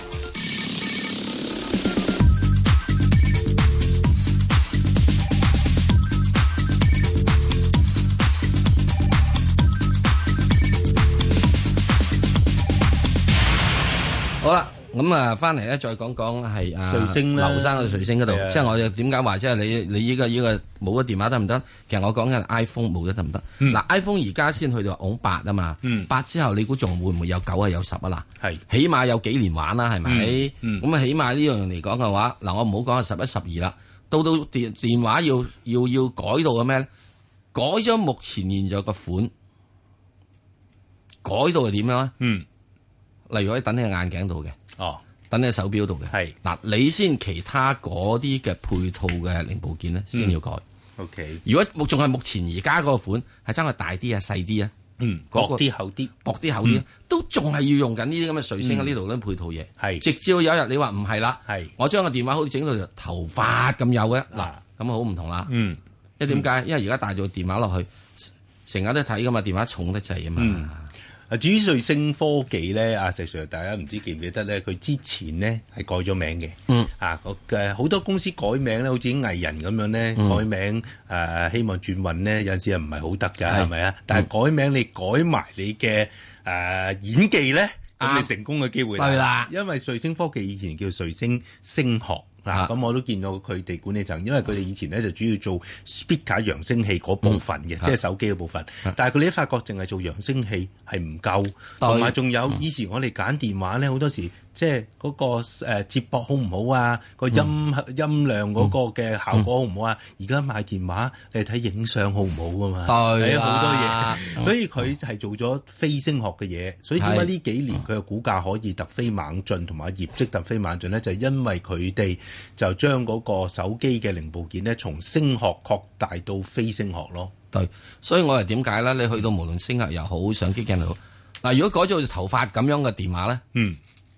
好啦。咁啊，翻嚟咧，再講講係啊， 瑞星啦， 劉生嘅瑞星嗰度，即係我哋點解話即係你你依個依個冇咗電話得唔得？其實我講緊 iPhone 冇咗得唔得？嗱、嗯、，iPhone 而家先去到講八啊嘛，八、嗯、之後你估仲會唔會有九啊有十啊嗱？係，起碼有幾年玩啦，係咪？咁、嗯、啊、嗯，起碼呢樣嚟講嘅話，嗱，我唔好講係十一、十二啦，到到電電話要要要改到嘅咩咧？改咗目前現在個款，改到係點樣咧？嗯，例如可以等喺眼鏡度嘅。哦，等喺手錶度嘅係嗱，你先其他嗰啲嘅配套嘅零部件咧，先、嗯、要改。O、okay. K， 如果仲係目前而家嗰個款係爭佢大啲啊、細啲啊，嗯，薄啲厚啲，薄啲厚啲、嗯，都仲係要用緊呢啲咁嘅瑞星啊呢度嗰啲配套嘢。係，直至有一日你話唔係啦，係，我將個電話好似整到頭髮咁幼嘅嗱，咁好唔同啦。嗯，因為點解？因為而家帶咗個電話落去，成日都睇噶嘛，電話重得滯啊嘛。嗯啊！至於瑞星科技咧，阿石 Sir，大家唔知記唔記得咧？佢之前咧係改咗名嘅。嗯。啊，嘅好多公司改名咧，好似藝人咁樣咧、嗯，改名誒、呃，希望轉運咧，有陣時係唔係好得㗎？係咪啊？但係改名你改埋你嘅誒、呃、演技咧，咁、啊、你成功嘅機會係啦。因為瑞星科技以前叫瑞星聲學。 啊，咁我都見到佢哋管理層，因為佢哋以前咧就主要做 speaker 揚聲器嗰部分嘅，嗯、即係手機嘅部分。嗯、但係佢哋一發覺淨係做揚聲器係唔夠，同埋仲有、嗯、以前我哋揀電話咧，好多時即係嗰個誒接駁好唔好啊，個音、嗯、音量嗰個嘅效果好唔好啊？而家、嗯、買電話你睇影相好唔好噶嘛？係啊，好多嘢，所以佢係做咗飛升學嘅嘢。所以點解呢幾年佢嘅股價可以突飛猛進，同埋業績突飛猛進咧？就係、因為佢哋就將嗰個手機嘅零部件咧，從升學擴大到飛升學咯。 對，所以我係點解咧？你去到無論升學又好，相機鏡又好，嗱，如果改咗頭髮咁樣嘅電話咧， 嗯，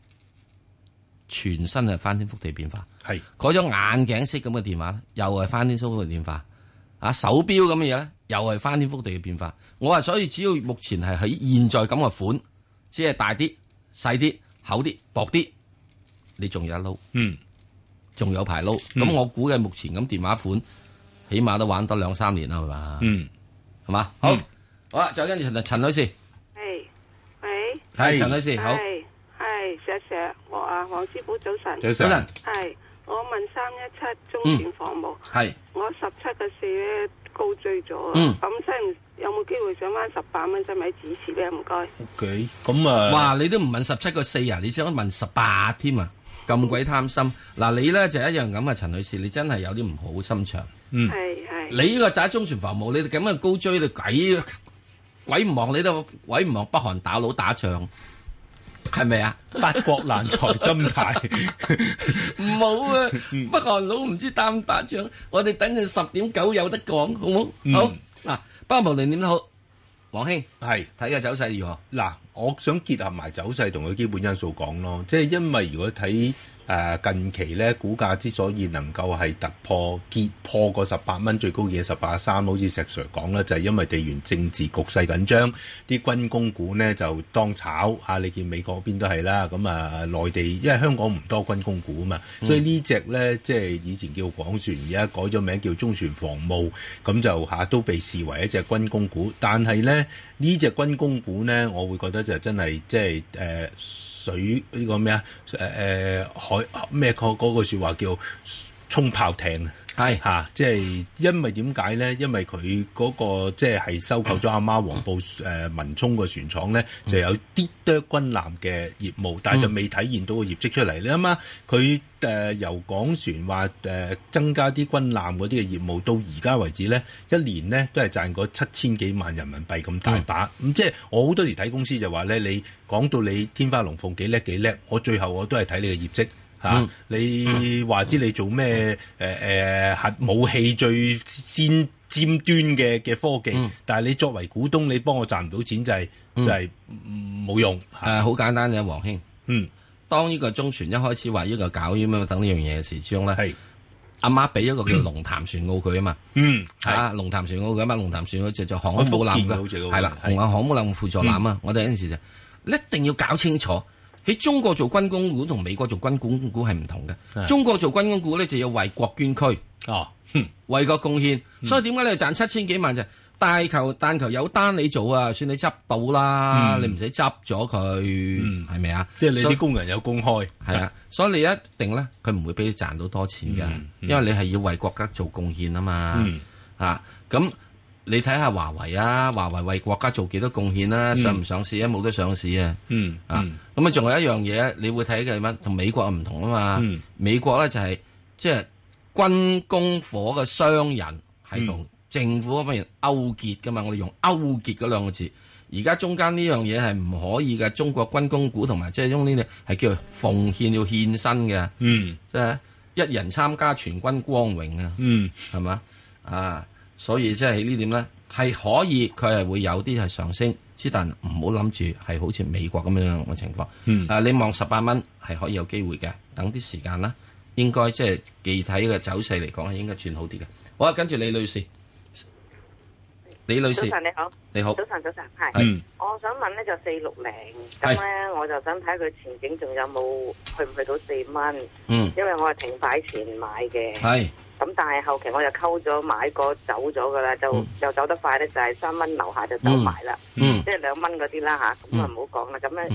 全身係翻天覆地變化。 係改咗眼鏡式咁嘅電話咧，又係翻天覆地變化。啊，手錶咁嘅嘢咧，又係翻天覆地嘅變化。我話所以只要目前係喺現在咁嘅款，只係大啲、細啲、厚啲、薄啲，你仲有一撈， 嗯， 仲有排撈。咁、嗯、我估計目前咁電話款，起碼都玩多兩三年啦，係嘛？ 嗯， 係嘛？好，嗯、好啦，就跟住陳陳女士， 係，喂， 係陳女士，好， 係，係，石石，我啊，黃師傅早晨， 早晨， 係，我問三一七中電服務， 係、嗯， 我十七個四咧高追咗， 嗯， 咁使唔有冇機會上翻十八蚊，使咪指示咧？唔該。 O K， 咁啊， 哇，你都唔問十七個四啊，你想問十八添啊？咁鬼貪心，嗱你咧就一樣咁啊，陳女士，你真係有啲唔好心腸。 嗯， 係係。 你呢個打中船防務，你哋咁樣高追，你鬼鬼唔望你都鬼唔望北韓打佬打仗，係咪啊？ 發國難財心態， 唔好啊！北韓佬唔知打唔打仗，我哋等陣十點九有得講，好唔好？嗯、好嗱，不過無論點都好，黃兄係睇嘅走勢如何？ 嗱，我想結合埋走勢同佢基本因素講咯，即係因為如果睇。誒、呃、近期咧，股價之所以能夠係突破結破個十八蚊最高嘅十八三，好似石 Sir 講啦，就係、是、因為地緣政治局勢緊張，啲軍工股呢就當炒嚇、啊。你見美國嗰邊都係啦，咁啊內地因為香港唔多軍工股啊嘛，嗯、所以呢隻咧即係以前叫廣船，而家改咗名叫中船防務，咁就嚇、啊、都被視為一隻軍工股。但係咧呢隻軍工股呢，我會覺得就真係即係誒。呃水呢個咩啊？誒、呃、誒海咩個嗰個説話叫衝炮艇係嚇、啊，即係因為點解咧？因為佢嗰、那個即係係收購咗阿媽黃埔誒、呃、文沖個船廠咧，就有啲多軍艦嘅業務，但係就未體現到個業績出嚟。你諗下，佢誒、呃、由港船話誒、呃、增加啲軍艦嗰啲嘅業務，到而家為止咧，一年咧都係賺過七千幾萬人民幣咁大把。咁、嗯、即係我好多時睇公司就話咧，你講到你天花龍鳳幾叻幾叻，我最後我都係睇你嘅業績。嚇、啊！你話知你做咩？誒誒核武器最先尖端嘅嘅科技，嗯、但係你作為股東，你幫我賺唔到錢就係、是嗯、就係冇用。誒，好、 呃、簡單嘅，黃兄。 嗯， 當呢個中船一開始話呢個搞咁樣等呢樣嘢嘅時鐘咧，係阿媽俾一個叫龍潭船澳佢啊嘛。 嗯， 係啊，龍潭船澳嘅嘛，龍潭船澳就就航空母艦嘅，係啦，紅岸航母艦輔助艦啊！嗯、我哋嗰陣時就一定要搞清楚。喺中國做軍工股同美國做軍工股係唔同嘅。中國做軍工股咧就要為國捐軀， 哦， 為國貢獻。嗯、所以點解你賺七千幾萬就大球但求有單你做啊？算你執到啦，嗯、你唔使執咗佢，係咪啊？ 即係你啲工人有公開， 係啊。所以你一定咧，佢唔會俾你賺到多錢㗎，嗯嗯、因為你係要為國家做貢獻啊嘛。 嗯、 啊，咁。你睇下華為啊，華為為國家做幾多貢獻啊？上唔上市啊？冇得上市啊！ 嗯啊，咁啊，仲有一樣嘢，你會睇嘅係乜？同美國唔同啊嘛。 嗯、美國咧就係即係軍工火嘅商人係同政府嗰邊勾結噶嘛。我哋用勾結嗰兩個字。而家中間呢樣嘢係唔可以嘅。中國軍工股同埋即係用呢啲係叫做奉獻要獻身嘅。 嗯， 即係一人參加全軍光榮啊。 嗯， 係嘛啊？所以即係喺呢點咧，係可以佢係會有啲係上升，之但唔好諗住係好似美國咁樣嘅情況。 嗯， 啊，你望十八蚊係可以有機會嘅，等啲時間啦，應該即係具體嘅走勢嚟講係應該轉好啲嘅。好啊，跟住李女士，李女士， 早晨你好， 你好， 早晨早晨，係， 嗯， 我想問咧就四六零，咁咧我就想睇佢前景仲有冇去唔去到四蚊？ 嗯， 因為我係停牌前買嘅， 係。 咁但係後期我又溝咗買過走咗噶啦，就又、嗯、走得快咧，就係三蚊樓下就走埋啦， 嗯、 即係兩蚊嗰啲啦吓，咁啊唔好講啦。咁咧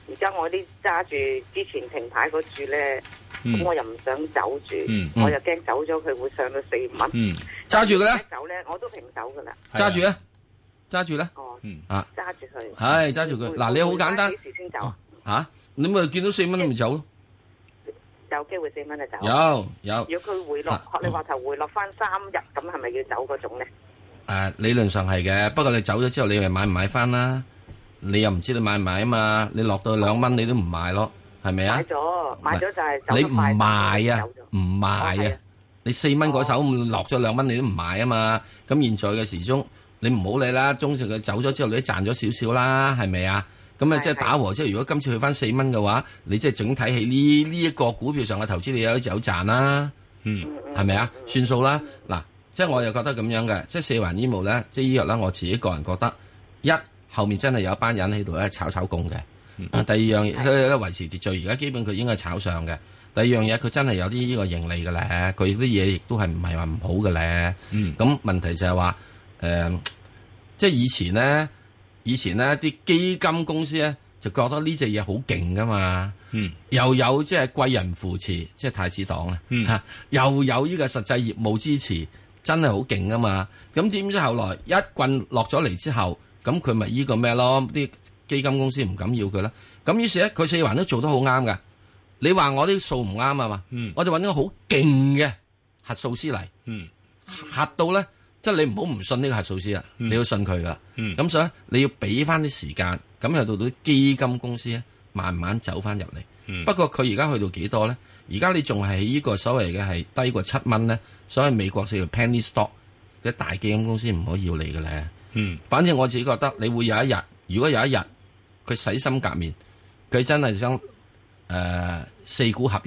而家我啲揸住之前停牌嗰注咧，咁、嗯、我又唔想走住， 嗯、 我又驚走咗佢會上到四五蚊。 揸住佢啦， 走咧我都平手噶啦。 揸住咧，揸住咧。 哦， 嗯啊， 揸住佢。 係揸住佢。嗱，你好簡單。幾時先走？ 吓、啊，你咪見到四蚊都咪走咯。 有機會四蚊就走。 有有。 如果佢回落，學、啊、你話頭回落翻三日，咁係咪要走嗰種咧？ 誒、啊，理論上係嘅，不過你走咗之後，你咪買唔買翻啦？你又唔知你買唔買啊嘛？你落到兩蚊，你都唔買咯，係咪啊？ 買咗，買咗就係走你唔賣啊，唔賣啊！你四蚊嗰手落咗兩蚊，你都唔買啊嘛？咁現在嘅時鐘，你唔好理啦。中時佢走咗之後，你都賺咗少少啦，係咪啊？咁啊，即係打和。即係如果今次去翻四蚊嘅話，你即係整體喺呢呢一個股票上嘅投資，你有有賺啦。嗯，係咪啊？算數啦。嗱，即係我又覺得咁樣嘅，即係四環醫務咧，即係醫藥咧，我自己個人覺得一。後面真係有一班人喺度咧炒炒供嘅。嗯、第二樣嘢佢咧維持秩序，而家基本佢應該係炒上嘅。第二樣嘢佢真係有啲呢個盈利嘅咧，佢啲嘢亦都係唔係話唔好嘅咧。咁、嗯、問題就係話誒，即係以前咧，以前咧啲基金公司咧就覺得呢隻嘢好勁噶嘛。嗯、又有即係貴人扶持，即係太子黨啊、嗯，又有呢個實際業務支持，真係好勁噶嘛。咁點知後來一棍落咗嚟之後，咁佢咪依個咩咯？啲基金公司唔敢要佢啦。咁於是咧，佢四環都做得好啱噶。你話我啲數唔啱啊嘛？嗯、我就揾個好勁嘅核數師嚟，嗯、核到咧，即係你唔好唔信呢個核數師啊、嗯！你要信佢噶。咁、嗯、所以你要俾翻啲時間，咁又到到啲基金公司咧，慢慢走翻入嚟。嗯、不過佢而家去到幾多咧？而家你仲係喺呢個所謂嘅係低過七蚊咧，所謂美國叫 penny stock，即係大基金公司唔可以要你嘅咧。嗯，反正我自己覺得你會有一日，如果有一日佢洗心革面，佢真係想誒、呃、四股合一，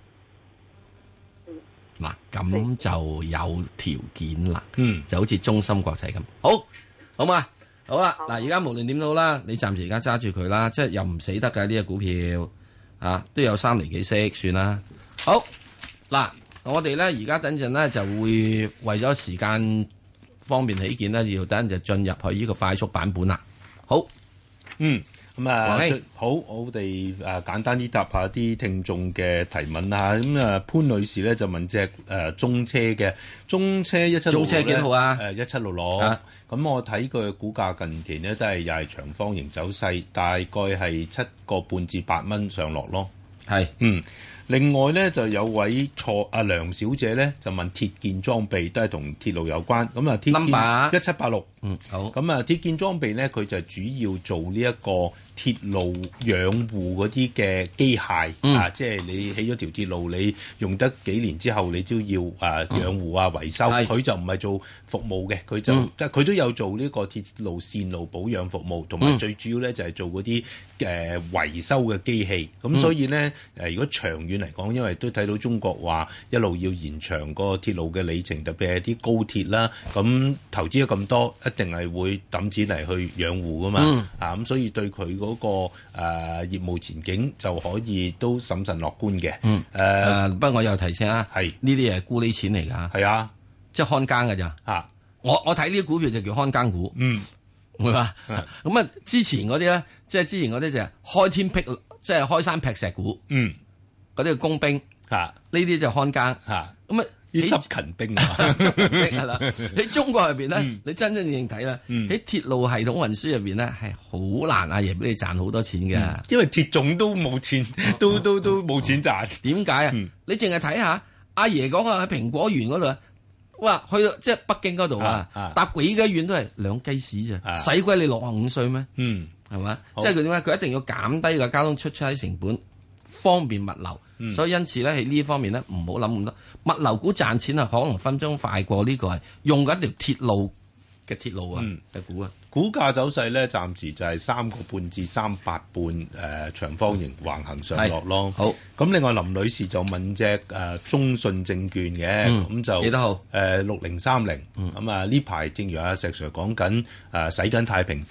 嗱咁就有條件啦。嗯，就好似中芯國際咁，好，好嘛，好啦，嗱而家無論點都好啦，你暫時而家揸住佢啦，即係又唔死得㗎呢隻股票啊，都有三厘幾息算啦。好，嗱我哋咧而家等陣咧就會為咗時間方便起見咧，要等就進入去呢個快速版本啦。好， 嗯，咁啊，好，我哋誒簡單啲答下啲聽眾嘅提問啦。咁啊，潘女士咧就問隻誒中車嘅中車一七六六，中車幾號啊？誒一七六六。咁我睇佢嘅股價近期呢，都係又係長方形走勢，大概係七個半至八蚊上落咯。係，嗯。另外咧就有位錯阿梁小姐咧就問鐵建裝備都係同鐵路有關，咁啊鐵建一七八六，嗯好，咁啊鐵建裝備咧佢就主要做呢一個鐵路養護嗰啲嘅機械、嗯、啊，即係你起咗條鐵路，你用得幾年之後，你都要啊養護啊維修。佢就唔係做服務嘅，佢就即係佢都有做呢個鐵路線路保養服務，同埋最主要咧就係做嗰啲誒維修嘅機器。咁、嗯、所以咧誒、呃，如果長遠嚟講，因為都睇到中國話一路要延長個鐵路嘅里程，特別係啲高鐵啦，咁投資咗咁多，一定係會揼錢嚟去養護噶嘛。嗯、啊咁，所以對佢嗰、那個誒、呃、業務前景就可以都審慎樂觀嘅。嗯誒、呃， 不過我又提醒啊，係呢啲係沽呢錢嚟㗎。係啊，即係看更㗎咋。啊，我我睇呢啲股票就叫看更股。嗯，係嘛？咁啊，之前嗰啲咧，即係之前嗰啲就係開天辟，即係開山劈石股。嗯，嗰啲係工兵。嚇，呢啲就看更。嚇，咁啊。啲執勤兵啊，執勤兵係啦。喺中國入邊咧，嗯、你真真正正睇啦，喺、嗯、鐵路系統運輸入邊咧，係好難阿爺俾你賺好多錢嘅、嗯，因為鐵總都冇錢，都都都冇錢賺。點解啊？嗯、你淨係睇下阿爺嗰個喺蘋果園嗰度，哇，去到即係北京嗰度啊，搭幾個遠都係兩雞屎咋，使鬼你六十五歲咩？嗯，係嘛？即係佢點解？佢一定要減低個交通出差成本，方便物流。嗯、所以因此咧喺呢方面咧唔好諗咁多，物流股賺錢啊可能分鐘快過呢個係用緊條鐵路嘅鐵路啊嘅股啊。股價走勢咧暫時就係三個半至三八半誒長方形橫行上落咯。好，咁另外林女士就問隻誒、呃、中信證券嘅，咁、嗯、就幾多號？誒六零三零。咁啊呢排正如阿石 Sir 講緊誒洗緊太平地。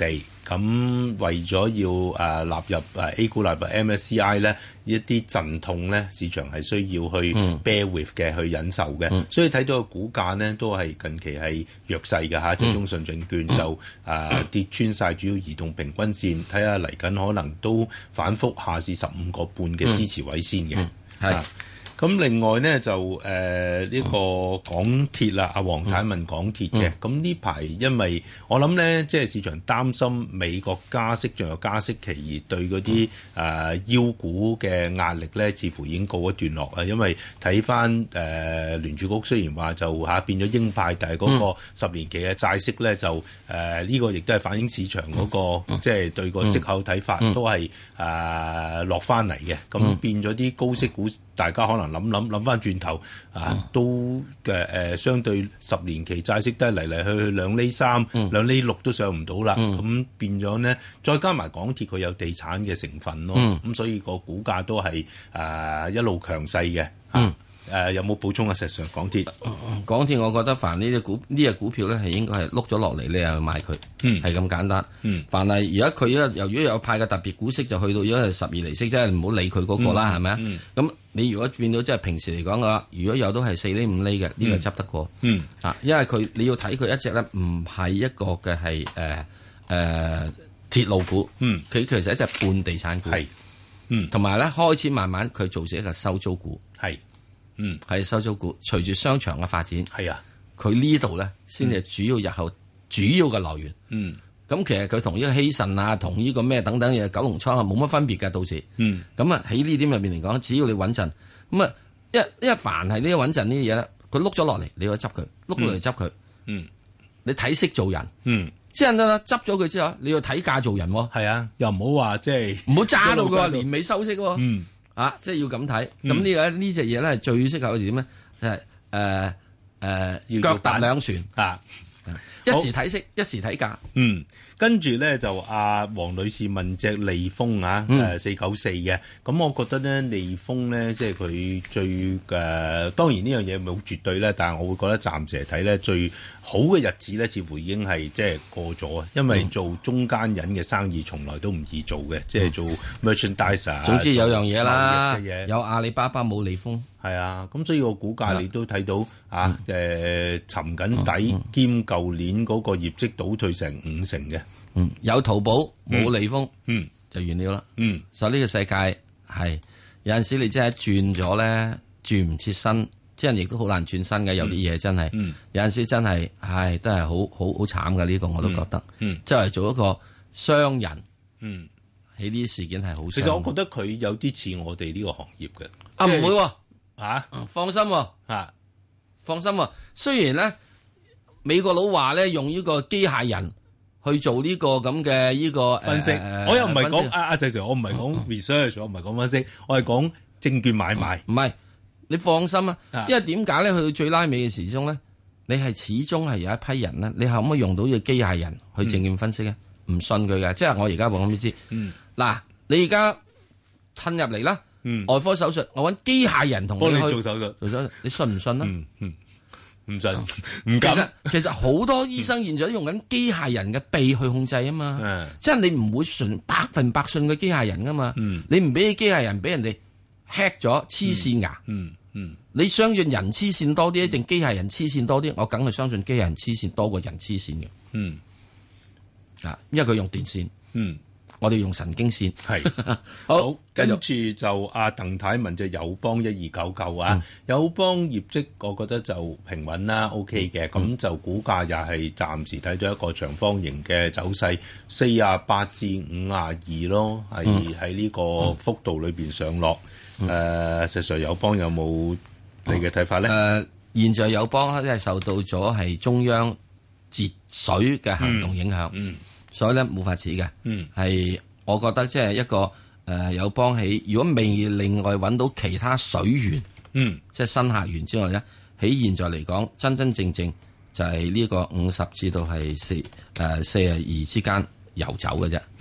咁為咗要誒、呃、納入誒 A 股納入 M S C I 咧，一啲陣痛咧，市場係需要去 bear with 嘅，去忍受嘅。嗯、所以睇到個股價呢，都係近期係弱勢嘅嚇，即係、嗯、中信證券就誒、呃、跌穿晒主要移動平均線，睇下嚟緊可能都反覆下試十五個半嘅支持位先嘅。係、嗯。咁另外呢，就誒呢、呃這個港鐵啦，阿黃太問港鐵嘅，咁呢排因為我諗呢，即係市場擔心美國加息仲有加息期，而對嗰啲誒腰股嘅壓力呢，似乎已經告一段落啊。因為睇翻誒聯儲局雖然話就嚇、啊、變咗鷹派，但係嗰個十年期嘅債息呢，就誒呢、呃這個亦都係反映市場嗰、那個即係、就是、對個息口睇法都係誒、呃、落翻嚟嘅，咁變咗啲高息股。大家可能諗諗諗翻轉頭啊，都嘅誒、呃，相對十年期債息都係嚟嚟去去兩厘三、嗯、兩厘六都上唔到啦。咁、嗯、變咗呢，再加埋港鐵佢有地產嘅成分咯，咁、嗯、所以個股價都係誒、呃、一路強勢嘅。嗯誒、呃、有冇補充啊？石 Sir，港鐵， 港鐵，我覺得凡呢隻股呢隻股票咧，係應該係碌咗落嚟，你又買佢，係咁、嗯、簡單。嗯、凡係而家佢咧，由於有派嘅特別股息，就去到而家係十二厘息，即係唔好理佢嗰個啦，係咪啊？咁你如果變到即係平時嚟講嘅話，如果有都係四厘五厘嘅，呢、呢個執得過。嗯啊，因為佢你要睇佢一隻咧，唔係一個嘅係誒誒鐵路股，嗯，佢其實係一隻半地產股，係，嗯，同埋咧開始慢慢佢做成一個收租股，係。嗯，係收租股，隨住商場嘅發展，係啊，佢呢度咧先至主要日後主要嘅來源。嗯，咁其實佢同呢個希慎啊，同呢個咩等等嘢，九龍倉啊，冇乜分別嘅，到時。嗯，咁啊喺呢點入邊嚟講，只要你穩陣，咁啊一一凡係呢個穩陣呢啲嘢咧，佢碌咗落嚟，你要執佢，碌落嚟執佢。嗯，你睇識做人。嗯，即係啦，執咗佢之後，你要睇價做人。係啊，又唔好話即係唔好揸到佢話年尾收息。嗯。啊，即係要咁睇，咁、嗯、呢個呢隻嘢咧係最適合點咧？就係誒誒腳踏兩船啊，一時睇息，一時睇價。 嗯，跟住咧就阿黃女士問隻利豐啊，誒四九四嘅，咁我覺得咧利豐咧即係佢最誒、呃，當然呢樣嘢唔係好絕對咧，但係我會覺得暫時嚟睇咧最好嘅日子咧，似乎已經係即係過咗啊！因為做中間人嘅生意從來都唔易做嘅，即係、嗯、做 merchandiser。總之有樣嘢啦，有阿里巴巴冇利豐，係啊！咁所以個股價你都睇到、嗯、啊，誒、呃、沉緊底，嗯、兼舊年嗰個業績倒退成五成嘅。嗯，有淘寶冇利豐，嗯，就完了啦。嗯，所以呢個世界係有陣時你真係轉咗咧，轉唔切身。即係亦都好難轉身嘅，有啲嘢真係，嗯、有陣時真係，唉，都係好好好慘嘅呢個，我都覺得。嗯，即係做一個商人，嗯，喺呢啲事件係好。其實我覺得佢有啲似我哋呢個行業嘅。啊，唔會喎，嚇，放心喎，嚇，放心喎。雖然咧，美國佬話咧用呢個機械人去做呢個咁嘅呢個分析，我又唔係講阿阿石 Sir，我唔係講 research，我唔係講分析，我係講證券買賣，唔係。你放心啊，因為點解咧？去到最拉尾嘅時鐘咧，你係始終係有一批人咧，你可唔可以用到呢個機械人去證券分析咧？唔、嗯、信佢嘅，即係我而家話咁你知。嗱、嗯，你而家褪入嚟啦，嗯、外科手術，我揾機械人同你去做手術，做手術，你信唔信啊？嗯嗯，唔信，唔敢。其實其實好多醫生現在都用緊機械人嘅鼻去控制啊嘛，嗯、即係你唔會信百分百信個機械人噶嘛，嗯、你唔俾機械人俾人哋。hack 咗黐線牙，嗯嗯，你相信人黐線多啲定機械人黐線多啲？我梗係相信機械人黐線多過人黐線嘅，嗯，啊，因為佢用電線，嗯，我哋用神經線，係好，跟住就阿鄧太問隻友邦一二九九啊，友邦業績我覺得就平穩啦 ，OK 嘅，咁就股價又係暫時睇咗一個長方形嘅走勢，四啊八至五啊二咯，係喺呢個幅度裏邊上落。誒、呃，實際友邦有冇你嘅睇法咧？誒、呃，現在友邦咧係受到咗係中央節水嘅行動影響，嗯嗯、所以咧冇法子嘅。係、嗯、我覺得即係一個誒友邦起，如果未另外揾到其他水源，嗯、即係新客源之外咧，喺現在嚟講，真真正正就係呢個五十至到係四誒四十二之間游走嘅啫。嗯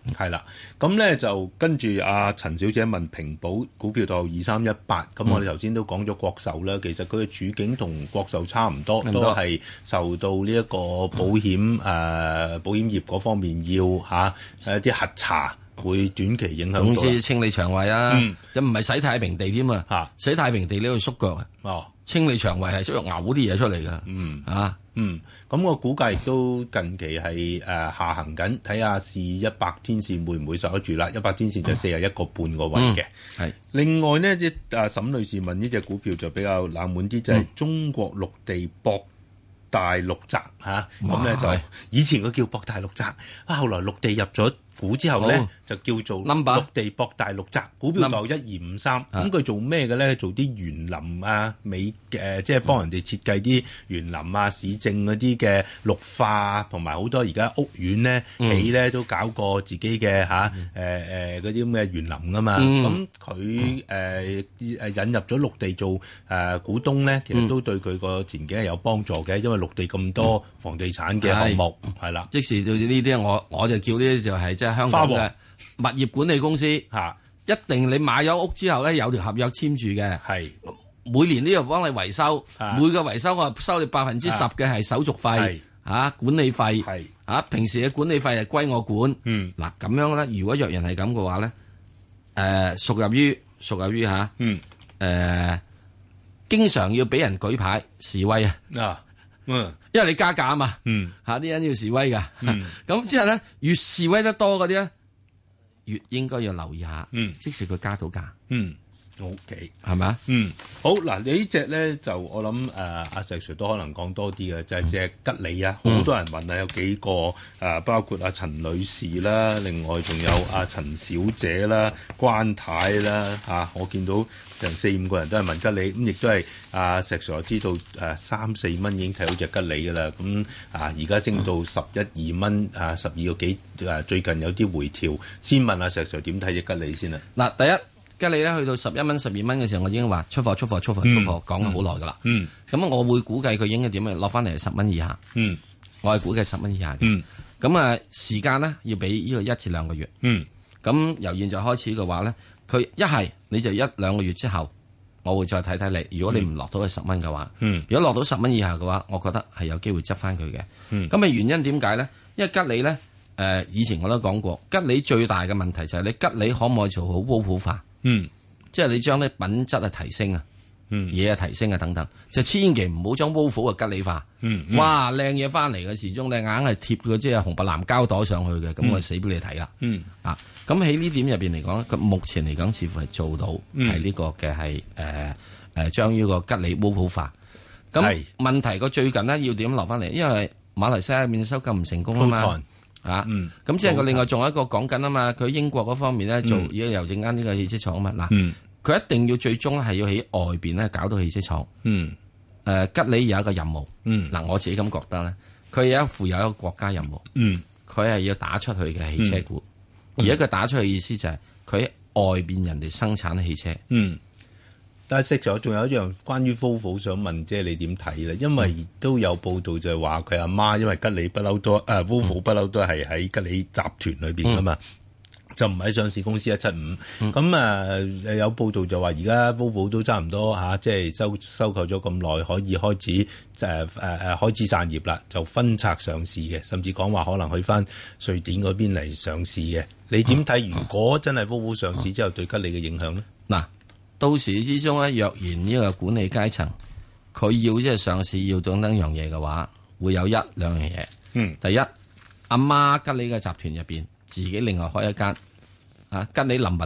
係啦，咁咧就跟住阿陳小姐問平保股票代號二三一八，咁我哋頭先都講咗國壽啦，其實佢嘅處境同國壽差唔多，都係受到呢一個保險誒、呃、保險業嗰方面要嚇誒啲核查會短期影響到。總之清理腸胃啊，就唔係洗太平地添啊，洗太平地呢度縮腳啊，哦，清理腸胃係需要嘔啲嘢出嚟㗎，嗯啊。 嗯，咁我估計亦都近期係誒、呃、下行緊，睇下試一百天線會唔會受得住啦？一百天線就四十一個半個位嘅。係、嗯。另外呢，啲啊沈女士問呢隻股票就比較冷門啲，就係、是、中國陸地博大陸宅嚇，咁咧、啊、就以前佢叫博大陸宅，啊後來陸地入咗股之後咧、哦、就叫做陸地博大陸宅，股票就一二五三。咁佢做咩嘅咧？做啲園林啊、美誒、呃，即係幫人哋設計啲園林啊、市政嗰啲嘅綠化，同埋好多而家屋苑咧起咧都搞過自己嘅嚇誒誒嗰啲咁嘅園林噶嘛。咁佢誒誒引入咗陸地做誒、呃、股東咧，其實都對佢個前景係有幫助嘅，因為陸地咁多房地產嘅項目係啦。即時就呢啲，我我就叫呢啲就係即係香港嘅物業管理公司嚇，一定你買咗屋之後咧有條合約簽住嘅，係每年都要幫你維修，每個維修我收你百分之十嘅係手續費嚇管理費，係嚇平時嘅管理費係歸我管。嗯，嗱咁樣咧，如果若然係咁嘅話咧，誒、呃、屬入於屬入於嚇，嗯誒、呃、經常要俾人舉牌示威啊，啊嗯，因為你加價啊嘛，嗯嚇啲人要示威㗎，嗯咁之後咧越示威得多嗰啲咧，越應該要留意下，嗯，即使佢加到價，嗯 ，OK， 係咪啊？嗯，好嗱，你呢隻咧就我諗誒阿石 Sir 都可能講多啲嘅，就係隻吉利啊，好、嗯、多人問啊，有幾個誒、啊，包括阿陳女士啦，另外仲有阿陳小姐啦、關太啦嚇、啊，我見到成四五個人都係問吉利，咁亦都係阿石 Sir 知道誒三四蚊已經睇到隻吉利㗎啦，咁啊而家升到十一二蚊啊十二個幾誒，最近有啲回調，先問阿石 Sir 點睇隻吉利先啦。嗱，第一。吉利咧去到十一蚊、十二蚊嘅時候，我已經話出貨、出貨、出貨、出貨，講咗好耐噶啦。嗯，咁、嗯、我會估計佢應該點樣落翻嚟十蚊以下。嗯，我係估計十蚊以下嘅。嗯，咁啊時間咧要俾呢個一至兩個月。嗯，咁由現在開始嘅話咧，佢一係你就一兩個月之後，我會再睇睇你。如果你唔落到去十蚊嘅話，嗯，如果落到十蚊以下嘅話，我覺得係有機會執翻佢嘅。嗯，咁啊原因點解咧？因為吉利咧，誒、呃、以前我都講過，吉利最大嘅問題就係你吉利可唔可以做好煲普化？嗯，即係你將啲品質啊提升啊，嗯，嘢啊提升啊等等，就千祈唔好將 Volvo 啊吉利化。嗯，嗯哇，靚嘢翻嚟嘅時鐘，你硬係貼個即係紅白藍膠袋上去嘅，咁、嗯、我死俾你睇啦。嗯，啊，咁喺呢點入邊嚟講，佢目前嚟講似乎係做到係呢個嘅係誒誒將呢個吉利 Volvo 化。咁問題個最近呢，要點落翻嚟？因為馬來西亞面收購唔成功啊嘛。啊，咁、嗯、即係佢另外仲有一個講緊啊嘛，佢英國嗰方面咧做而家郵政間呢個汽車廠啊嘛，嗱、嗯，佢一定要最終係要喺外邊咧搞到汽車廠。嗯，誒、呃、吉利有一個任務。嗯，嗱我自己咁覺得咧，佢有一負有一個國家任務。嗯，佢係要打出去嘅汽車股，嗯、而家佢打出去嘅意思就係佢喺外邊人哋生產嘅汽車。嗯。但係識咗，仲有一樣關於 Volvo 想問，即係你點睇咧？因為都有報道就係話佢阿媽，因為吉利不嬲都誒 Volvo 不嬲都係喺吉利集團裏邊噶嘛，嗯、就唔喺上市公司一七五。咁啊誒有報道就話而家 Volvo 都差唔多嚇，即係收收購咗咁耐，可以開始誒誒誒開始散業啦，就分拆上市嘅，甚至講話可能去翻瑞典嗰邊嚟上市嘅。你點睇？如果真係 Volvo 上市之後對吉利嘅影響咧？嗱。到時之中咧，若然呢個管理階層佢要即係上市要等等樣嘢嘅話，會有一兩樣嘢。嗯，第一，阿媽吉利嘅集團入邊自己另外開一間啊吉利 Number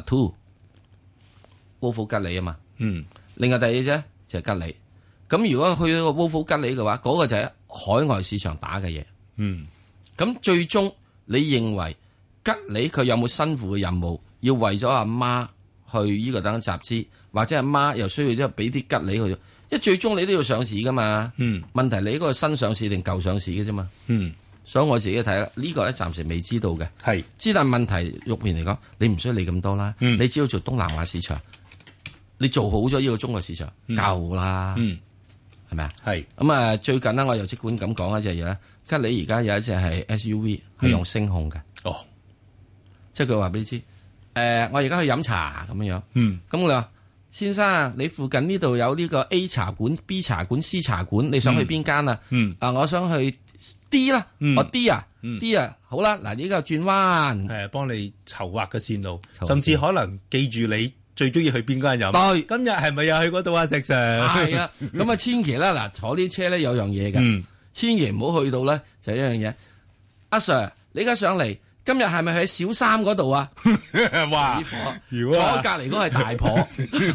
Two，Volvo 吉利啊嘛。嗯，另外第二啫就係吉利。咁如果去到個 Volvo 吉利嘅話，嗰、那個就係海外市場打嘅嘢。嗯，咁最終你認為吉利佢有冇辛苦嘅任務，要為咗阿媽去呢個等集資？或者阿媽又需要即係俾啲吉利去，因為最終你都要上市噶嘛。嗯，問題你嗰個新上市定舊上市嘅啫嘛。嗯，所以我自己睇啦，呢個咧暫時未知道嘅。係，之但問題入面嚟講，你唔需要理咁多啦。嗯，你只要做東南亞市場，你做好咗呢個中國市場、嗯、夠啦。嗯，係咪啊？係。咁啊，最近呢，我又即管咁講一隻嘢咧，吉利而家有一隻係 S U V 係用聲控嘅。哦。 即係佢話俾你知，誒、呃，我而家去飲茶咁樣樣。 嗯， 咁我話先生，你附近呢度有呢個 A 茶館、B 茶館、C 茶館，你想去邊間啊？ 嗯， 啊，我想去 D 啦， 嗯、 我 D 啊、 嗯、 ，D 啊，好啦，嗱，呢個轉彎， 係幫你籌劃嘅線路，甚至可能記住你最中意去邊間飲。 對， 今日係咪又去嗰度啊？石 Sir？ 係啊，咁啊，千祈啦，嗱，坐啲車咧有樣嘢嘅， 嗯、千祈唔好去到咧就一樣嘢。阿 Sir，你而家上嚟。今日係咪喺小三嗰度啊？ 哇！ 如果坐隔離嗰係大婆，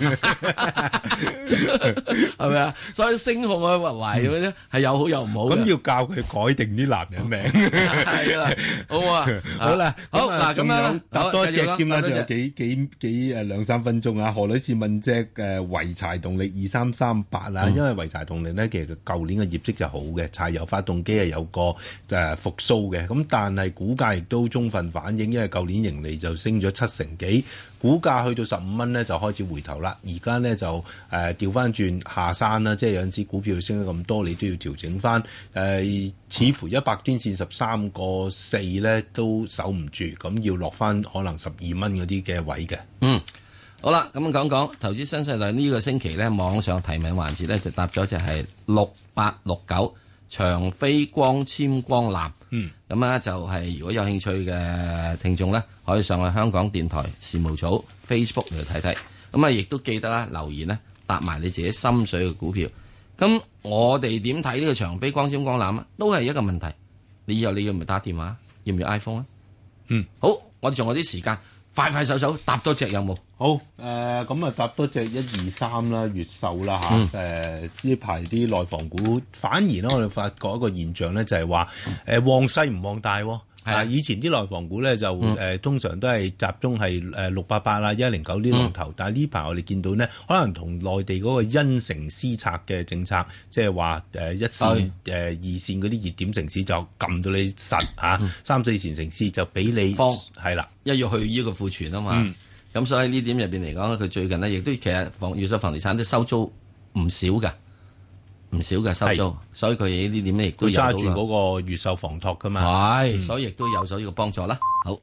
係咪啊？所以聲控啊，懷嗰啲係有好有唔好。 咁要教佢改定啲男人名。係啦，好啊， 好啦， 好嗱，咁樣答多隻添啦，仲有幾幾幾誒兩三分鐘啊！何女士問隻誒濰柴動力二三三八啊，因為濰柴動力咧其實舊年嘅業績就好嘅，柴油發動機係有個誒復甦嘅，咁但係股價亦都中充分反映，因為舊年盈利就升咗七成幾，股價去到十五蚊咧就開始回頭啦。而家咧就誒調翻轉下山啦，即係有陣時股票升得咁多，你都要調整翻。誒、呃，似乎一百天線十三個四咧都守唔住，咁要落翻可能十二蚊嗰啲嘅位嘅。 嗯，好啦，咁講講投資新世代呢個星期咧，網上提名環節咧就答咗就係六八六九長飛光纖光纜。 嗯， 咁啊就係如果有興趣嘅聽眾咧，可以上去香港電台事務組 Facebook 嚟睇睇。咁啊，亦都記得啦，留言咧答埋你自己心水嘅股票。咁我哋點睇呢個長飛光纖光纜啊？都係一個問題。你以後你要唔要打電話？要唔要 iPhone 啊？ 嗯， 好，我哋仲有啲時間，快快手手答多隻有冇？ 好，誒咁啊，答多隻一二三啦，越秀啦嚇，誒呢排啲內房股反而咧，我哋發覺一個現象咧，就係話誒旺細唔旺大喎。啊，以前啲內房股咧就誒、嗯呃、通常都係集中係誒六八八啦、一零九啲龍頭，嗯、但係呢排我哋見到呢，可能同內地嗰個因城施策嘅政策，即係話誒一線誒、呃、二線嗰啲熱點城市就撳到你實嚇，啊嗯、三四線城市就俾你放係啦， 一要去呢個庫存啊嘛。咁、嗯、所以呢點入邊嚟講，佢最近呢亦都其實房越秀房地產都收租唔少㗎。唔少嘅收租，所以佢呢點咧亦都有揸住嗰個越秀房託噶嘛， 係、嗯，所以亦都有咗呢個幫助啦。好，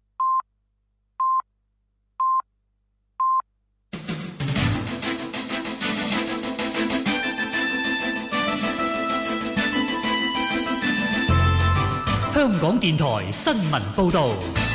香港電台新聞報道。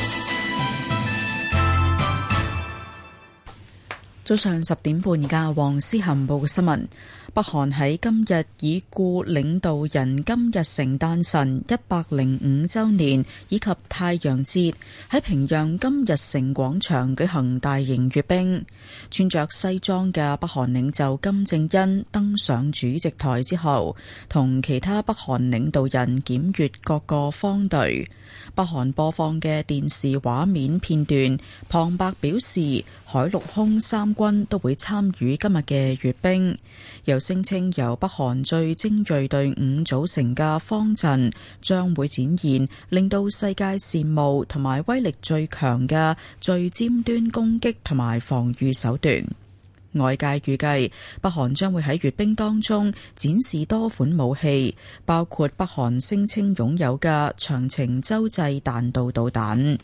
早上十點半，而家黃思涵報嘅新聞。北韓喺今日已故領導人金日成誕辰一百零五週年以及太陽節，喺平壤金日成廣場舉行大型閱兵。穿着西裝嘅北韓領袖金正恩登上主席台之後，同其他北韓領導人檢閱各個方隊。北韓播放嘅電視畫面片段，旁白表示海陸空三軍都會參與今日嘅閱兵，又聲稱由北韓最精銳隊伍組成嘅方陣將會展現令到世界羨慕同埋威力最強嘅最尖端攻擊同埋防禦手段。外界預計北韓將會喺閱兵當中展示多款武器，包括北韓聲稱擁有嘅長程洲際彈道導彈。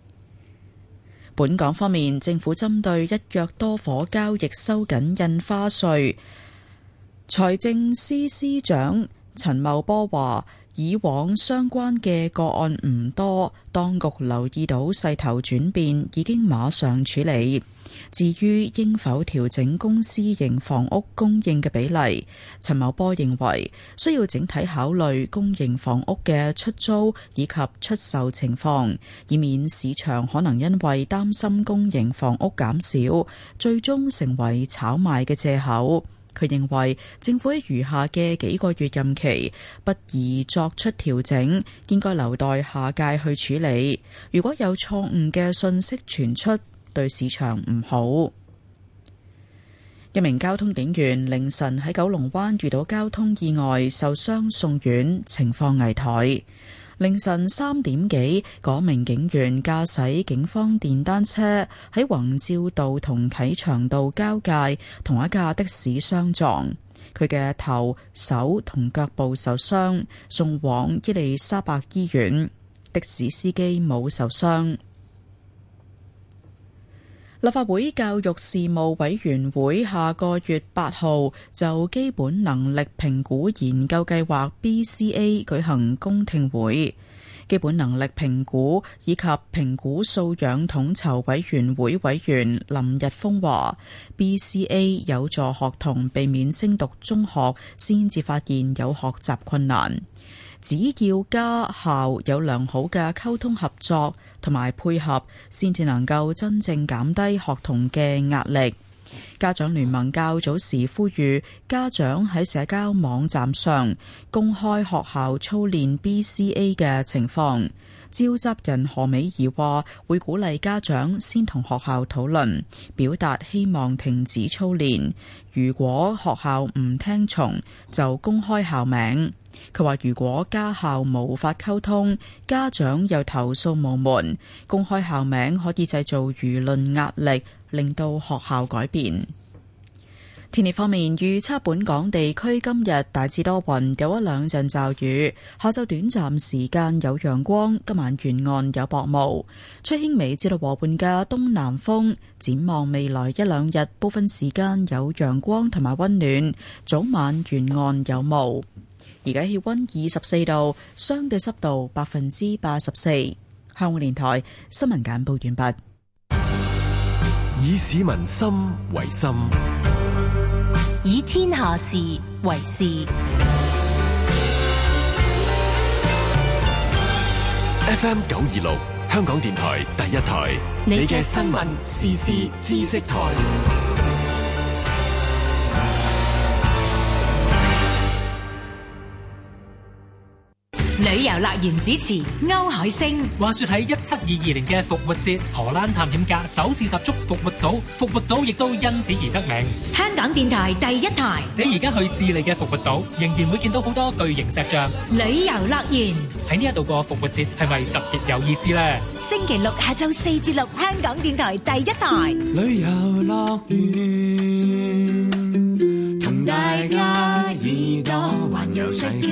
本港方面，政府針對一約多伙交易收緊印花稅，財政司司長陳茂波話，以往相關嘅個案唔多，當局留意到勢頭轉變，已經馬上處理。至於應否調整公私營房屋供應嘅比例，陳茂波認為需要整體考慮公營房屋嘅出租以及出售情況，以免市場可能因為擔心公營房屋減少，最終成為炒賣嘅藉口。佢認為政府喺餘下嘅幾個月任期不宜作出調整，應該留待下屆去處理。如果有錯誤嘅信息傳出，對市場唔好。一名交通警員凌晨喺九龍灣遇到交通意外，受傷送院，情況危殆。凌晨三點幾，嗰名警員駕駛警方電單車喺宏照道同啟祥道交界同一架的士相撞，佢嘅頭、手同腳部受傷，送往伊利沙伯醫院。的士司機冇受傷。 立法會教育事務委員會下個月八號就基本能力評估研究計劃 B C A 舉行公聽會。基本能力評估以及評估素養統籌委員會委員林日峰話 B C A 有助學童避免升讀中學先至發現有學習困難，只要家校有良好嘅溝通合作同埋配合，先至能夠真正減低學童嘅壓力。家長聯盟較早時呼籲家長喺社交網站上公開學校操練 B C A 嘅情況。召集人何美儀話會鼓勵家長先同學校討論，表達希望停止操練。如果學校唔聽從，就公開校名。佢話如果家校無法溝通，家長又投訴無門，公開校名可以製造輿論壓力，令到學校改變。天氣方面，預測本港地區今日大致多雲，有一兩陣驟雨，下晝短暫時間有陽光，今晚沿岸有薄霧，吹輕微至到和緩嘅東南風。展望未來一兩日，部分時間有陽光同埋溫暖，早晚沿岸有霧。而家氣溫二十四度，相對濕度百分之八十四。香港電台新聞簡報完畢。 以市民心為心， 以天下事為事。 F M 九二六，香港電台第一台，你嘅新聞時事知識台。 旅遊樂園主持歐海星。 話說喺一七二二年嘅復活節，荷蘭探險家首次踏足復活島，復活島亦都因此而得名。 香港電台第一台。 你而家去智利嘅復活島，仍然會見到好多巨型石像。 旅遊樂園喺呢一度過復活節係咪特別有意思呢？ 星期六下晝四至六，香港電台第一台。 旅遊樂園同大家耳朵環遊世界。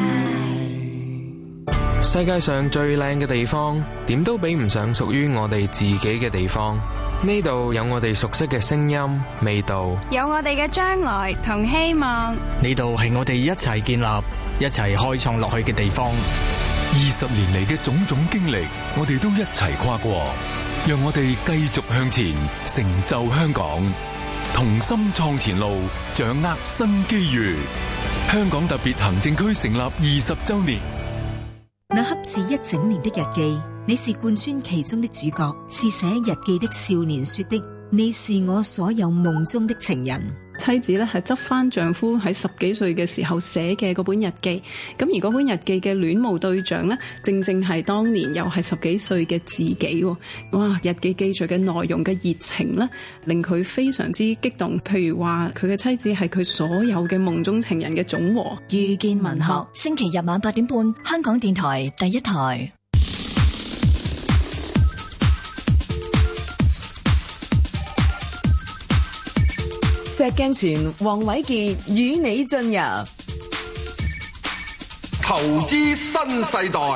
世界上最靚嘅地方，點都比唔上屬於我哋自己嘅地方。呢度有我哋熟悉嘅聲音、味道， 有我哋嘅將來同希望。 呢度係我哋一齊建立、一齊開創落去嘅地方。 二十年嚟嘅種種經歷，我哋都一齊跨過，讓我哋繼續向前，成就香港，同心創前路，掌握新機遇。香港特別行政區成立二十周年。 那恰是一整年的日記，你是貫穿其中的主角，是寫日記的少年說的，你是我所有夢中的情人。 妻子咧係執翻丈夫喺十幾歲嘅時候寫嘅嗰本日記，咁而嗰本日記嘅戀慕對象呢，正正係當年又係十幾歲嘅自己。哇！日記記載嘅內容嘅熱情呢，令佢非常之激動。譬如話佢嘅妻子係佢所有嘅夢中情人嘅總和。 遇見文學，星期日晚八點半，香港電台第一台。 石鏡泉、黃偉傑與你進入投資新世代。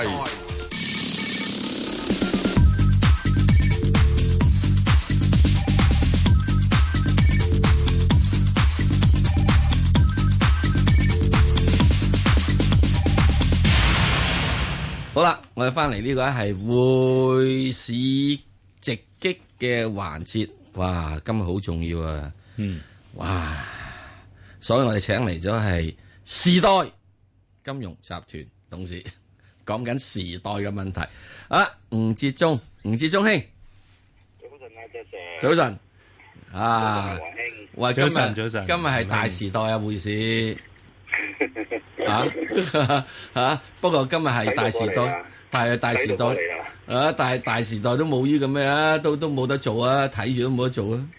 好啦，我哋翻嚟呢個係匯市直擊嘅環節。哇，今日好重要啊！嗯。哇！所以我哋請嚟咗係時代金融集團董事，講緊時代嘅問題。啊，吳哲忠，吳哲忠兄， 早晨啊，謝謝。 早晨。啊，喂，今日早晨， 今日係大時代啊，匯市。啊啊！不過今日係大時代，但係大時代啊，但係大時代都冇呢咁咩啊，都都冇得做啊，睇住都冇得做啊。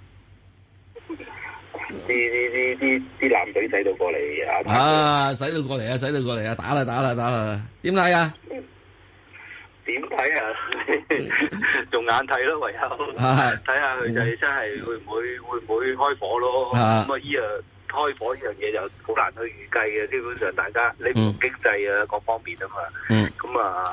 啲啲啲啲啲艦隊使到過嚟啊！ 啊，使到過嚟啊，使到過嚟啊，打啦打啦打啦！點睇啊？ 點睇啊？用眼睇咯，唯有睇下佢就真係會唔會會唔會開火咯？咁啊，依樣開火呢樣嘢就好難去預計嘅。基本上大家你唔經濟啊各方面啊嘛，咁啊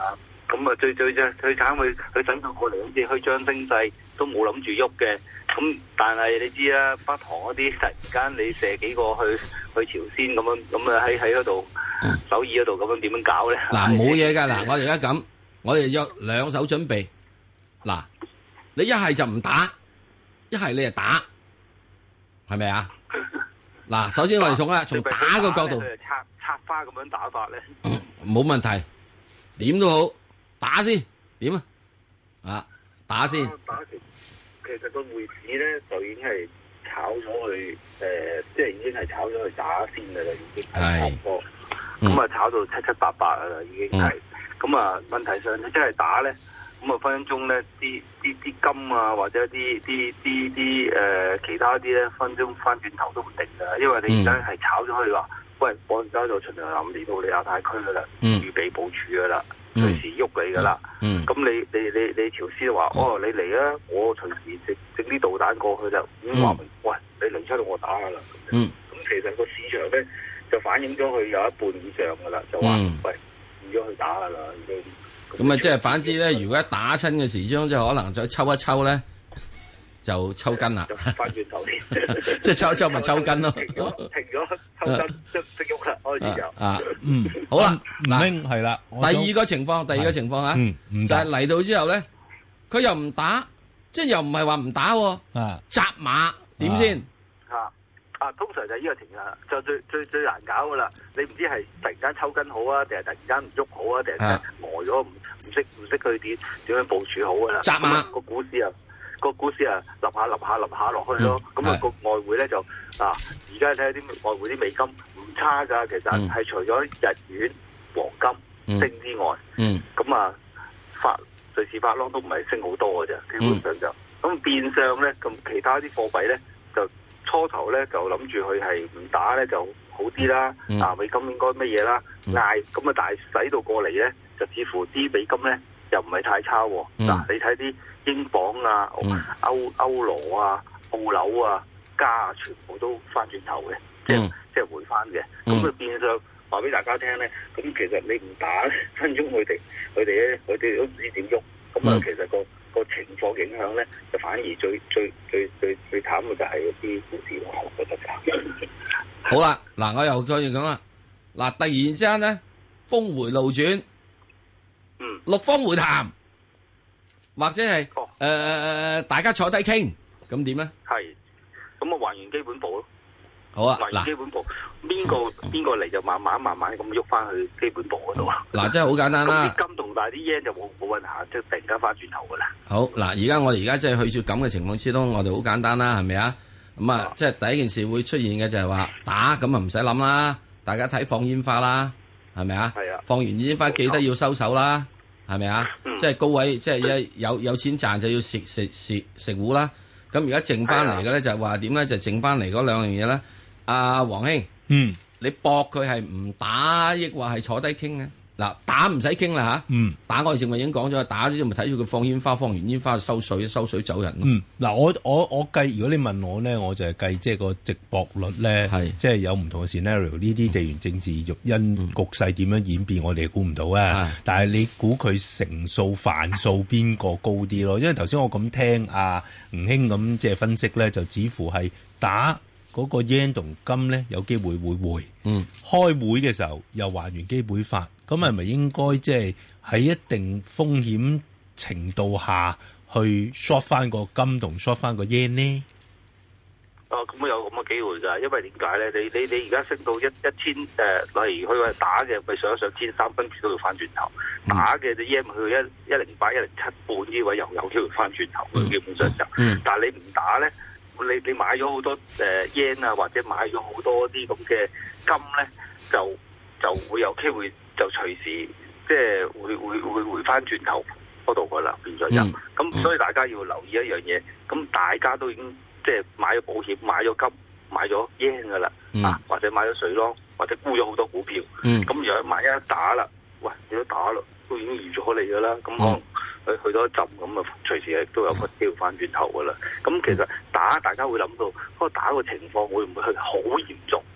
咁啊最最最最慘佢佢等到過嚟好似虛張聲勢都冇諗住喐嘅。咁但係你知啦，北韓嗰啲突然間你射幾個去去朝鮮咁樣，咁啊喺喺嗰度首爾嗰度咁樣點樣搞咧？ 嗱冇嘢㗎，嗱我哋而家咁，我哋有兩手準備。嗱，你一係就唔打，一係你就打，係咪啊？嗱，首先我哋從啦，從打個角度， 插插花咁樣打法咧， 冇問題，點都好，打先，點啊？啊，打先。 打其其實個匯市咧就已經係炒咗去，誒、呃，即係已經係炒咗去打先㗎啦，已經係差唔多。咁啊，炒到七七八八㗎啦，已經係。咁啊，問題上你真係打咧，咁啊分分鐘咧啲啲啲金啊，或者啲啲啲啲誒其他啲咧，分分鐘翻轉頭都唔定㗎，因為你而家係炒咗去話，喂，我而家就循常諗嚟到你亞太區㗎啦，預備部署㗎啦。隨時喐你噶啦，咁、嗯、你你你你朝鮮話、嗯、哦，你嚟啊，我隨時整整啲導彈過去就已經話明，喂，你嚟出到我打噶啦。咁、嗯、其實個市場咧就反映咗佢有一半以上噶啦，就話、嗯、喂，唔咗去打噶啦已經。 咁啊，即係反之咧，如果一打親嘅時鐘，即係可能再抽一抽咧，就抽筋啦。 翻轉頭添， 即係抽一抽咪抽筋咯。 停咗，停咗，抽筋即即喐啦，開始就啊，嗯，好啦， 嗱，係啦。 第二個情況，第二個情況啊，就係嚟到之後咧，佢又唔打，即係又唔係話唔打，啊，紮馬點先？ 啊啊，通常就係呢個情況，就最最最難搞噶啦。你唔知係突然間抽筋好啊，定係突然間唔喐好啊，定係呆咗唔唔識唔識佢點點樣部署好噶啦？ 紮馬個股市啊！個股市啊，立下立下立下落去咯。咁、嗯、啊，個外匯咧就啊，而家睇下啲外匯啲美金唔差噶。其實係除咗日元、黃金升之外，咁、嗯嗯、啊，法瑞士法郎都唔係升好多嘅啫。基本上就咁、嗯、變相咧，咁其他啲貨幣咧就初頭咧就諗住佢係唔打咧就好啲啦。嗯、啊，美金應該乜嘢啦？嗌咁啊，但係使到過嚟咧，就似乎啲美金咧又唔係太差。嗱、嗯啊，你睇啲。英鎊啊、嗯、歐歐羅啊、澳紐啊、加啊，全部都翻轉頭嘅，即係、嗯、即係回翻嘅。咁佢、嗯、變相話俾大家聽咧，咁其實你唔打分鐘佢哋佢哋咧，佢哋都唔知點喐。咁啊、嗯，其實個個情況影響咧，就反而最最最最最慘嘅就係一啲股市咯，我覺得就。 好啦，嗱，我又再講啦。嗱，突然之間咧，峰回路轉， 嗯， 六方會談。或者係誒誒大家坐低傾，咁點咧？ 係，咁啊還原基本步咯。 好啊， 還原基本步，邊個邊個嚟就慢慢慢慢咁喐翻去基本步嗰度啊。 嗱，真係好簡單啦。 啲金同大啲 yen 就冇冇運行，即係突然間翻轉頭噶啦。 好嗱，而家我哋而家即係去住咁嘅情況之中，我哋好簡單啦，係咪啊？咁啊，即係第一件事會出現嘅就係話打，咁啊唔使諗啦，大家睇放煙花啦，係咪啊？ 係啊。 放完煙花記得要收手啦。係咪啊？嗯、即係高位，即係一有有錢賺就要食食食食糊啦。咁而家剩翻嚟嘅咧就係話點咧？就剩翻嚟嗰兩樣嘢咧。阿黃兄， 嗯， 你搏佢係唔打，抑或係坐低傾咧？嗱，打唔使傾啦吓， 嗯， 打我哋正話已經講咗，打咗咪睇住佢放煙花，放完煙花就收水，收水走人咯。 嗯，嗱，我我我計，如果你問我咧，我就係計即係個值博率咧，係即係有唔同嘅 scenario，呢啲地緣政治育因局勢點樣演變，我哋估唔到啊。但係你估佢成數範數邊個高啲咯？因為頭先我咁聽阿吳兄咁即係分析咧，就似乎係打嗰個 yen 同金咧有機會會回。 嗯， 開會嘅時候又還原基本法。咁係咪應該即係喺一定風險程度下去 short 翻個金同 short 翻個 yen 呢？ 哦，咁有咁嘅機會㗎，因為點解咧？你你你而家升到一一千誒，例如佢話打嘅，咪上一上千三，跟住都要翻轉頭。嗯、打嘅隻 yen 去一一零八、一零七半呢位又有機會翻轉頭。嗯、基本上就，嗯、但係你唔打咧，你你買咗好多誒 yen 啊，或者買咗好多啲咁嘅金咧，就就會有機會。就隨時即係會會會回翻轉頭嗰度噶啦，變咗就咁，嗯、所以大家要留意一樣嘢。咁大家都已經即係買咗保險、買咗金、買咗 yen 噶啦，嗯、啊或者買咗水咯，或者沽咗好多股票。咁、嗯、如果萬一打啦，喂，你都打啦，都已經預咗你噶啦。咁可能去去多一陣咁啊，隨時亦都有個機會翻轉頭噶啦。咁其實打大家會諗到，嗰個打個情況會唔會係好嚴重？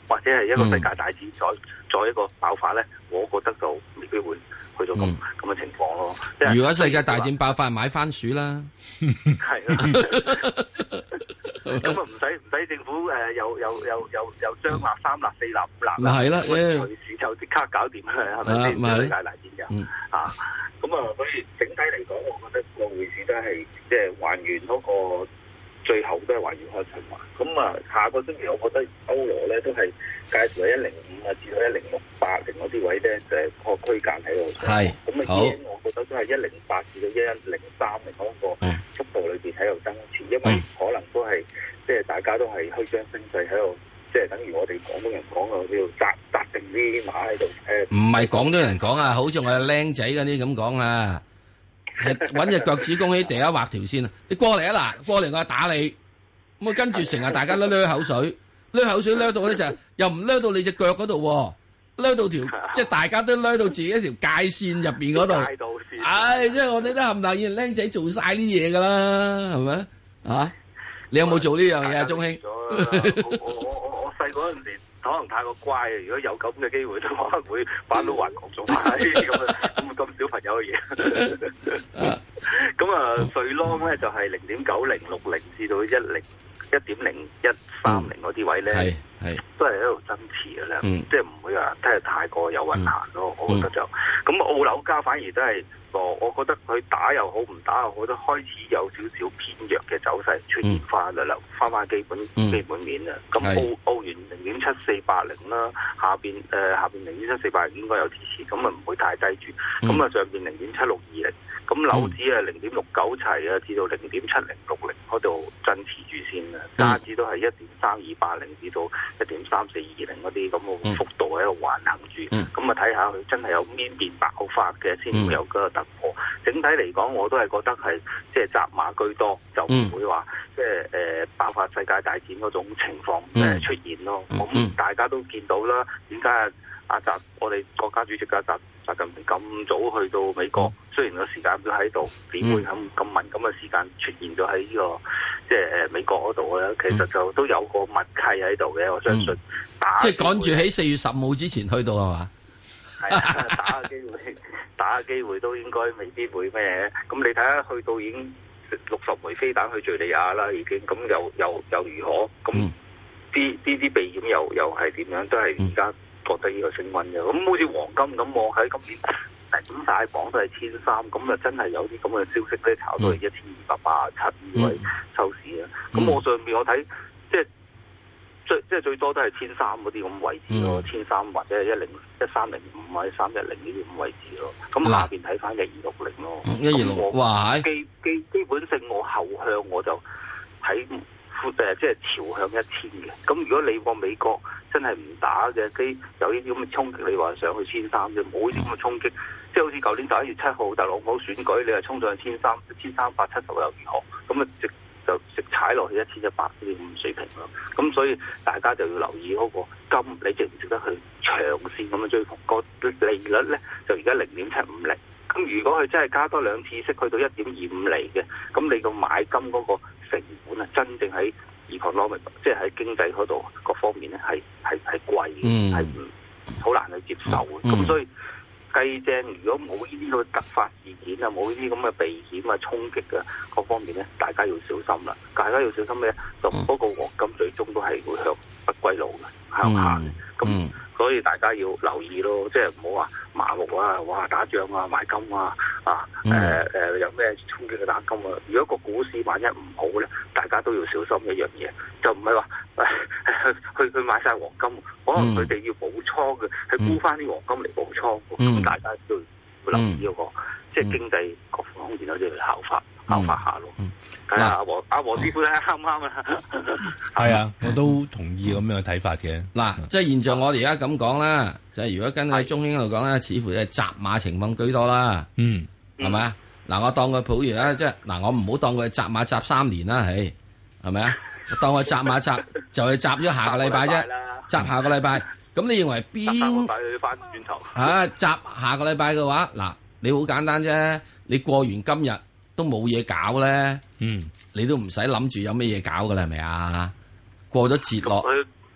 或者係一個世界大戰再、嗯、再一個爆發咧，我覺得就未必會去到咁咁嘅情況咯。 如果世界大戰爆發，買番薯啦， 係啦。咁啊唔使唔使政府誒又又又又又雙立三立四立五立啦， 係啦， 隨時就即刻搞掂啦，係咪先？世界大戰就啊，咁啊，所以整體嚟講，我覺得個匯市都係即係還原嗰個最後都係還原開循環。咁啊，下個星期我覺得歐羅咧都係介乎喺一零五啊至到一零六八零嗰啲位咧，就係個區間喺度。 係咁啊，依我覺得都係一零八至到一一零三零嗰個幅度裏邊喺度增持，因為可能都係即係大家都係虛張聲勢喺度，即係等於我哋廣東人講嘅叫紮紮定啲馬喺度。誒，唔係廣東人講啊，好似我哋僆仔嗰啲咁講啊，係揾隻腳趾公喺地下畫條線啊！你過嚟啊嗱，過嚟我打你，咁啊跟住成日大家都掠口水，掠口水掠到咧就又唔掠到你隻腳嗰度，掠到條即係大家都掠到自己一條界線入邊嗰度。唉，即係我哋都冚唪唥僆仔做晒啲嘢噶啦，係咪啊？你有冇做呢樣嘢啊，鐘兄？ 我我我我細嗰陣時可能太過乖啊！如果有咁嘅機會，都可能會返到環球做埋咁啊咁咁小朋友嘅嘢。咁啊，瑞郎咧就係零點九零六零至到一零一點零一三零嗰啲位咧，係係都係喺度增持嘅啦。嗯，即係唔會話真係太過有運行咯。我覺得就咁澳紐加反而都係。我覺得佢打又好，唔打又好，都開始有少少偏弱嘅走勢出現翻啦，翻翻基本、嗯、基本面啦。咁澳澳元零點七四八零啦，下邊誒、呃、下邊零點七四八零應該有支持，咁啊唔會太低住。咁啊、嗯、上邊零點七六二零，咁紐指啊零點六九齊啊，至到零點七零六零嗰度增持住先啦。加指都係一點三二八零至到一點三四二零嗰啲咁嘅幅度喺度橫行住。咁啊睇下佢真係有邊邊爆發嘅先會有嗰個突。整體嚟講，我都係覺得係即係紮馬居多，就唔會話即係誒爆發世界大戰嗰種情況誒出現咯。咁、嗯、大家都見到啦，點解阿習我哋國家主席嘅習習近平咁早去到美國？嗯、雖然個時間表喺度，點會咁咁敏感嘅時間出現咗喺呢個即係誒美國嗰度咧？其實就都有個默契喺度嘅，我相信。打即係趕住喺四月十號之前去到係嘛？ 係啊，打嘅機會。打嘅機會都應該未必會咩，咁你睇下去到已經六十枚飛彈去敍利亞啦，已經咁又又又如何？咁啲啲啲避險又又係點樣？都係而家覺得呢個升溫嘅。咁好似黃金咁，我喺今年頂晒榜都係千三，咁啊真係有啲咁嘅消息咧，炒到係一千二百八十七呢位收市啊！咁、嗯、我上面我睇即係。最即係最多都係千三嗰啲咁位置咯，千三、嗯、或者係一零一三零五或者三一零呢啲咁位置咯。咁下邊睇翻一二六零咯。 一二六，哇！ 基基基本性我後向我就睇誒，即係朝向一千嘅。咁如果你個美國真係唔打嘅，基有呢啲咁嘅衝擊，你話上去千三啫，冇呢啲咁嘅衝擊，即係好似舊年十一月七號特朗普選舉，你係衝上去千三千三百七十又如何？咁啊直。就直踩落去一千一百呢啲咁水平咯，咁所以大家就要留意嗰個金，你值唔值得去長線咁樣追捧？個利率咧就而家零點七五厘，咁如果佢真係加多兩次息去到一點二五厘嘅，咁你個買金嗰個成本啊，真正喺 economic 即係喺經濟嗰度各方面咧係係係貴嘅，係唔好難去接受嘅，咁、嗯、所以。計正，如果冇呢啲咁嘅突發事件啊，冇呢啲咁嘅避險啊、衝擊嘅各方面咧，大家要小心啦。大家要小心咩？就嗰個黃金最終都係會向不歸路嘅，向下嘅。咁、嗯、所以大家要留意咯，即係唔好話麻木啊，哇打仗啊買金啊，啊誒誒、呃呃、有咩衝擊嘅打金啊。如果個股市萬一唔好咧，大家都要小心一樣嘢，就唔係話去去買晒黃金，可能佢哋要補倉嘅，係沽翻啲黃金嚟補倉。咁、嗯、大家都要留意嗰、那個、嗯、即係經濟各方面都要效法、嗯、效法下咯。睇下阿黃阿黃師傅咧啱唔啱啊？ 係啊，我都同意咁樣嘅睇法嘅。 嗱，即係現在我哋而家咁講啦，就係、是、如果跟喺中英度講咧，似乎係紮馬情況居多啦。嗯，係咪啊？嗱，我當佢普如咧，即係嗱，我唔好當佢紮馬紮三年啦，係係咪啊？當佢紮馬紮就係紮咗下個禮拜啫，紮下個禮拜。咁你認為邊翻轉頭啊？集下個禮拜嘅話，嗱，你好簡單啫。你過完今日都冇嘢搞咧，嗯，你都唔使諗住有咩嘢搞噶啦，係咪啊？過咗節落，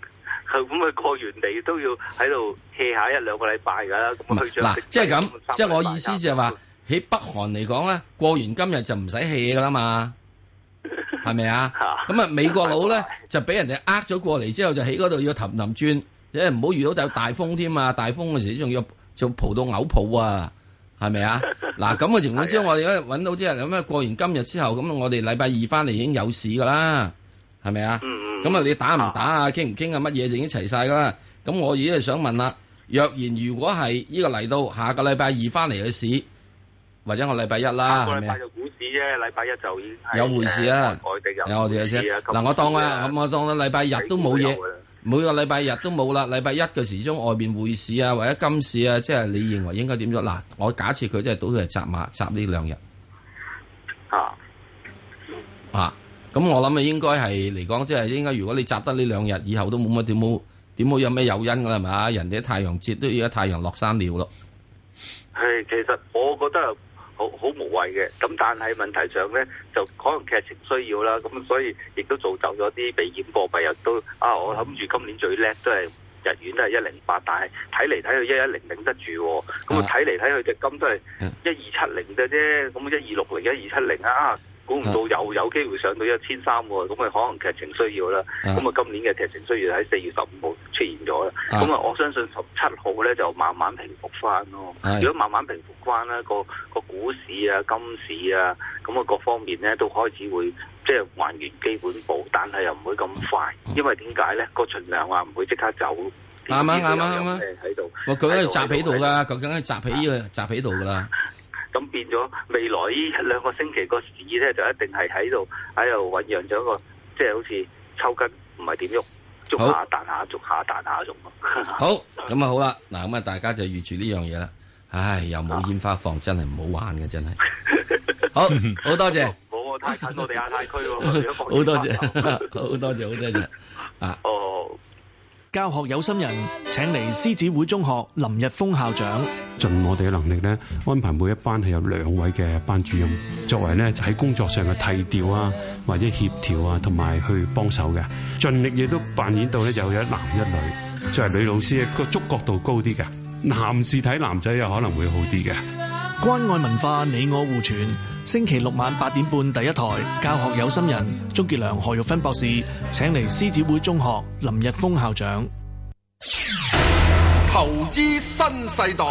咁佢過完嚟都要喺度 hea 下一兩個禮拜㗎啦。咁去嗱，即係咁，即係我意思就係話喺北韓嚟講咧，過完今日就唔使 hea 㗎啦嘛。係咪啊？咁啊，美國佬咧就俾人哋呃咗過嚟之後，就喺嗰度要氹氹轉，即係唔好遇到就大風添啊！大風嘅時仲要就蒲到嘔泡啊！係咪啊？嗱咁嘅情況之下，我哋而家揾到啲人咁啊，過完今日之後，咁我哋禮拜二翻嚟已經有市噶啦，係咪啊？咁啊，你打唔打啊？傾唔傾啊？乜嘢就已經齊晒噶啦。咁我而家係想問啦，若然如果係呢個嚟到下個禮拜二翻嚟嘅市，或者我禮拜一啦，係咪啊？ 禮拜一就已經有回事啊！ 外地有有我哋嘅啫。嗱，我當啊，咁我當啊，禮拜日都冇嘢，每個禮拜日都冇啦。禮拜一嘅時鐘外邊匯市啊，或者金市啊，即係你認為應該點咗？嗱，我假設佢真係賭佢係集馬集呢兩日啊啊！咁我諗啊，應該係嚟講，即係應該，如果你集得呢兩日，以後都冇乜點冇點冇有咩誘因噶啦，係嘛？人哋啲太陽節都而家太陽落山了咯。 係，其實我覺得。好好無謂嘅，咁但係問題上咧，就可能劇情需要啦，咁所以亦都造就咗啲避險貨幣又都啊，我諗住今年最叻都係日元都係一零八，但係睇嚟睇去一一零頂得住，咁啊睇嚟睇去隻金都係一二七零嘅啫，咁一二六零、一二七零啊，估唔到又有機會上到一千三喎，咁啊可能劇情需要啦，咁啊今年嘅劇情需要喺四月十五號出現咗啦，咁啊我相信十七號咧就慢慢平復翻咯，如果慢慢平復翻咧個個股市啊、金市啊，咁啊各方面咧都開始會即係還原基本步，但係又唔會咁快，因為點解咧？個存量啊唔會即刻走， 啱啊啱啊啱啊！ 喺度， 我佢喺度集喺度噶，究竟係集喺呢個集喺度噶啦。 咁變咗未來呢一兩個星期個市咧就一定係喺度喺度醖釀咗一個即係好似抽筋，唔係點喐，捉下彈下，捉下彈下咁。 好，咁啊好啦，嗱咁啊大家就預住呢樣嘢啦。唉，又冇煙花放，真係唔好玩嘅，真係。好，好多謝。 冇啊，太近我哋亞太區喎。 好多謝，好多謝，好多謝。啊。 哦。 教學有心人請嚟獅子會中學林日峰校長， 盡我哋嘅能力咧，安排每一班係有兩位嘅班主任，作為咧喺工作上嘅提調啊，或者協調啊，同埋去幫手嘅，盡力亦都扮演到咧有一男一女，作為女老師個觸覺度高啲嘅，男士睇男仔又可能會好啲嘅。 關愛文化，你我互傳。星期六晚八點半第一台，教學有心人，鍾傑良、何玉芬博士請嚟獅子會中學林日峰校長。 投資新世代。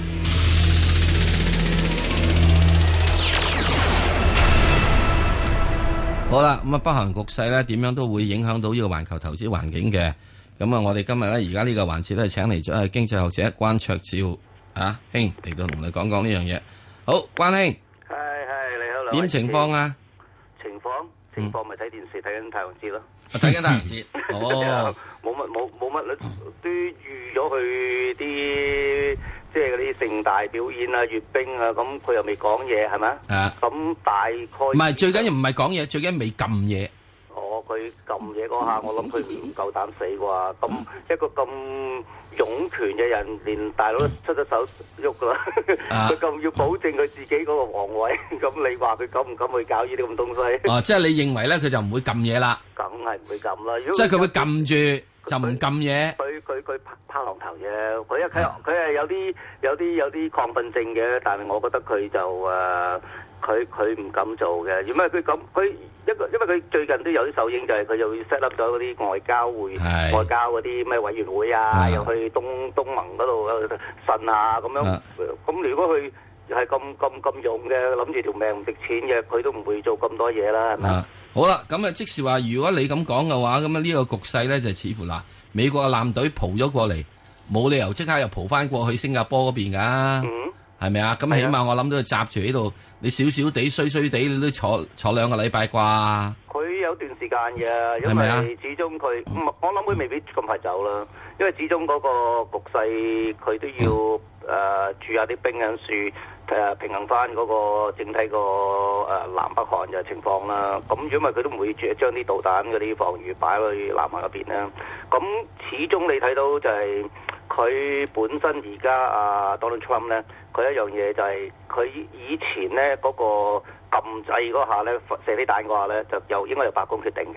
好啦，咁啊，北韓局勢咧點樣都會影響到呢個環球投資環境嘅。咁啊，我哋今日咧而家呢個環節都係請嚟咗係經濟學者關焯照啊兄嚟到同你講講呢樣嘢。好，關兄。點情況啊？ 情況情況咪睇電視睇緊太陽節咯。 睇緊太陽節。哦。 冇乜冇冇乜都預咗去啲即係嗰啲盛大表演啊、閱兵啊，咁佢又未講嘢係咪？啊。咁大概。唔係最緊要唔係講嘢，最緊要未撳嘢。 哦，佢撳嘢嗰下，我諗佢唔夠膽死啩。咁一個咁擁權嘅人，連大佬都出咗手喐噶啦。佢咁要保證佢自己嗰個皇位，咁你話佢敢唔敢去搞呢啲咁東西？哦， 即係你認為咧，佢就唔會撳嘢啦。 梗係唔會撳啦。 即係佢會撳住，就唔撳嘢。 佢佢佢拍拍浪頭啫。佢一佢佢係有啲有啲有啲亢奮症嘅，但係我覺得佢就誒。佢佢唔敢做嘅，因為佢咁佢一個，因為佢最近都有啲手影，就係佢又 set up 咗嗰啲外交會、外交嗰啲咩委員會啊，又去東東盟嗰度呻啊咁樣。咁如果佢係咁咁咁勇嘅，諗住條命唔值錢嘅，佢都唔會做咁多嘢啦，係咪？ 好啦，咁啊，即是話，如果你咁講嘅話，咁啊呢個局勢咧就似乎嗱，美國嘅艦隊蒲咗過嚟，冇理由即刻又蒲翻過去新加坡嗰邊㗎。係咪啊？咁起碼我諗都係閘住喺度，你少少地衰衰地，你都坐坐兩個禮拜啩？ 佢有段時間嘅，因為始終佢，我諗佢未必咁快走啦。因為始終嗰個局勢，佢都要誒駐下啲兵喺處，誒平衡翻嗰個整體個誒南北韓嘅情況啦。咁因為佢都唔會將啲導彈嗰啲防禦擺去南韓嗰邊啦。咁始終你睇到就係佢本身而家啊 Donald Trump 咧。佢一樣嘢就係佢以前咧嗰個禁制嗰下咧射啲彈嗰下咧就由應該由白宮決定嘅，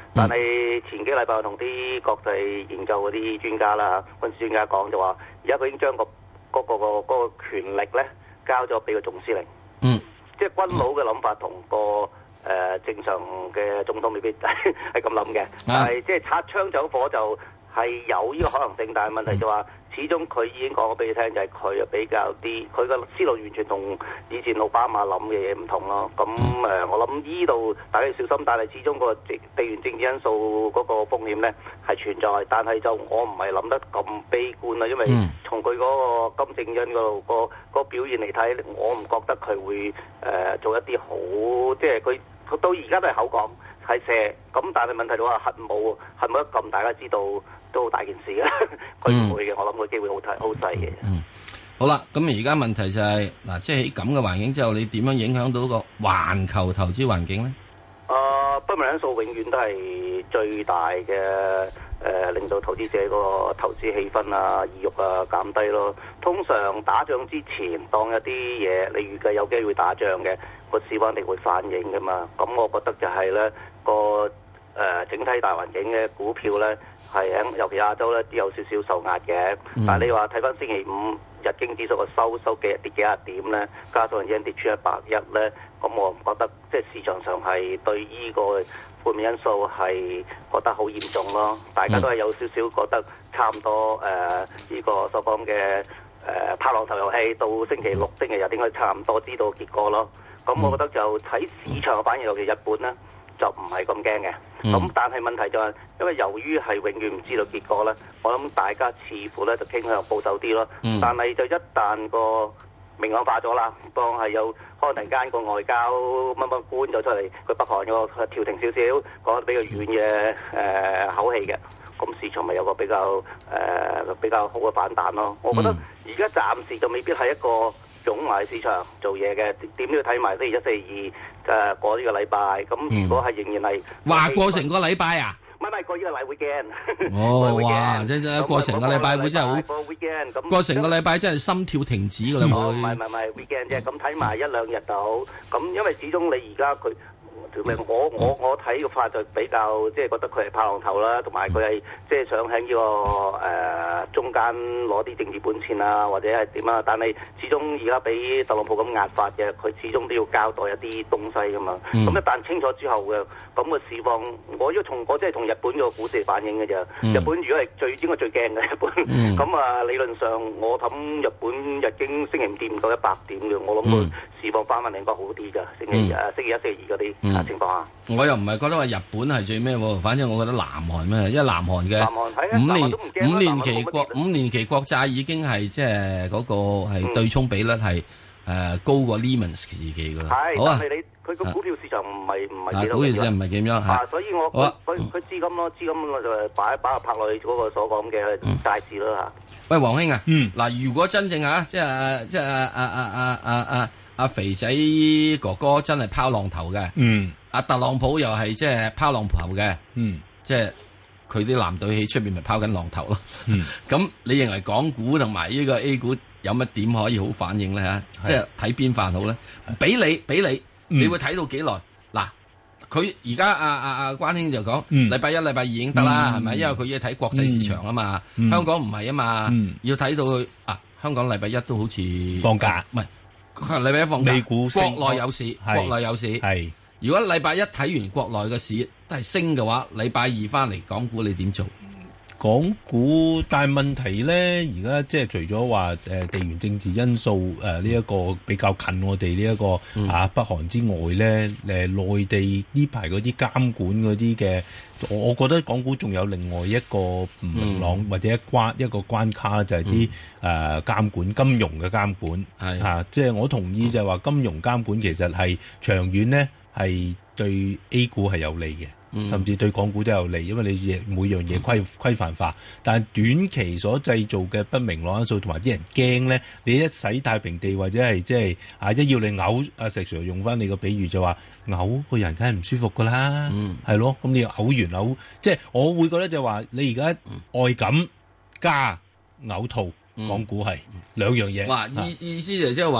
但係前幾禮拜我同啲國際研究嗰啲專家啦、軍事專家講就話，而家佢已經將、嗰個嗰、嗰個、嗰個嗰個權力咧交咗俾個總司令。 嗯， 即係軍佬嘅諗法同個誒、呃、正常嘅總統未必係咁諗嘅，但係即係擦槍走火就係有呢個可能性，但係問題就話。始終佢已經講咗俾你聽，就係佢啊比較啲，佢個思路完全同以前奧巴馬諗嘅嘢唔同咯。咁誒、呃，我諗呢度大家要小心，但係始終個地地緣政治因素嗰個風險咧係存在，但係就我唔係諗得咁悲觀啦，因為從佢嗰個金正恩嗰度個個表現嚟睇，我唔覺得佢會誒、呃、做一啲好，即係佢佢到而家都係口講係射，咁但係問題就話核武核武一撳，大家知道。都好大件事嘅，佢唔會嘅，我諗個機會好細好細嘅。 嗯，好啦，咁而家問題就係、是、嗱，即係喺咁嘅環境之後，你點樣影響到個環球投資環境咧？ 誒、呃，不明因素永遠都係最大嘅誒、呃，令到投資者個投資氣氛啊、意欲啊減低咯。通常打仗之前，當一啲嘢你預計有機會打仗嘅，個市況一定會反映噶嘛。咁我覺得就係咧個。誒、呃、整體大環境嘅股票咧，係喺尤其亞洲咧，都有少少受壓嘅。嗯、但係你話睇翻星期五日經指數個收收幾跌幾廿點咧，加上日經跌穿一百一咧，咁我唔覺得即係市場上係對呢個負面因素係覺得好嚴重咯。大家都係有少少覺得差唔多誒呢、呃這個所講嘅誒拍浪頭遊戲，到星期六、星期日應該差唔多知道結果咯。咁我覺得就睇市場嘅反應，尤其日本咧。就唔係咁驚嘅，咁、嗯、但係問題就係、是，因為由於係永遠唔知道結果咧，我諗大家似乎咧就傾向保守啲咯。嗯、但係就一旦個明朗化咗啦，當係有可能突然間個外交乜乜官咗出嚟，佢北韓個調停少少，講得比較軟嘅誒、呃、口氣嘅，咁市場咪有個比較誒、呃、比較好嘅反彈咯。我覺得而家暫時就未必係一個湧埋市場做嘢嘅，點都要睇埋星期一、四二。誒過呢個禮拜，咁如果係仍然係話過成個禮拜啊？ 唔係唔係過呢個禮會驚。 哦，哇！即係過成個禮拜會真係好。過成個禮拜真係心跳停止㗎啦，會。 唔係唔係唔係會驚啫，咁睇埋一兩日到，咁因為始終你而家佢。我我我睇個法就比較即係覺得佢係拍浪頭啦，同埋佢係即係想喺呢、這個誒、呃、中間攞啲政治本錢啊，或者係點啊？但係始終而家俾特朗普咁壓法嘅，佢始終都要交代一啲東西噶嘛。咁、嗯、一旦清楚之後嘅咁個市況，我要從我即係同日本個股市反映嘅啫。嗯、日本如果係最應該最驚嘅日本，咁啊、嗯、理論上我諗日本日經星期五跌唔到一百點嘅，我諗佢市況翻翻嚟應該好啲㗎。星期誒星期一、星期二嗰啲。嗯情況啊， 我又唔係覺得話日本係最咩喎，反正我覺得南韓咩，因為南韓嘅五年五年期國五年期國債已經係即係嗰個係對沖比率係誒高過 Lehman 時期㗎啦。好啊， 但係你佢個股票市場唔係唔係幾多？ 股票市場唔係點樣嚇？ 所以我佢佢資金咯，資金我就擺擺入拍落去嗰個所講嘅債市咯嚇。 喂，黃兄啊，嗱，如果真正嚇即係即係阿阿阿阿阿阿肥仔哥哥真係拋浪頭嘅，嗯，阿特朗普又係即係拋浪頭嘅，嗯，即係佢啲藍隊喺出邊咪拋緊浪頭咯，嗯，咁你認為港股同埋呢個 A 股有乜點可以好反應咧嚇？即係睇邊範好咧？俾你俾你，你會睇到幾耐？嗱，佢而家阿阿阿關兄就講，禮拜一、禮拜二已經得啦，係咪？因為佢要睇國際市場啊嘛，香港唔係啊嘛，要睇到佢啊，香港禮拜一都好似放假， 唔係。禮拜一放假， 美股國內有市，國內有市。係如果禮拜一睇完國內嘅市都係升嘅話，禮拜二翻嚟港股你點做？ 港股，但係問題咧，而家即係除咗話誒地緣政治因素誒呢一個比較近我哋呢一個、嗯、啊北韓之外咧，誒、呃、內地呢排嗰啲監管嗰啲嘅，我我覺得港股仲有另外一個唔明朗、嗯、或者一關一個關卡就係啲誒監管金融嘅監管係嚇，即係我同意就係話金融監管其實係長遠咧係對 A 股係有利嘅。甚至對港股都有利，因為你每樣嘢規規範化，但係短期所製造嘅不明朗因素同埋啲人驚咧，你一洗太平地或者係即係啊一要你嘔，阿石 Sir 用翻你個比喻就話嘔個人梗係唔舒服噶啦，係、嗯、咯，咁你嘔完嘔，即係我會覺得就話你而家外感加嘔吐，港股係兩樣嘢。 哇、嗯，意意思就即係話。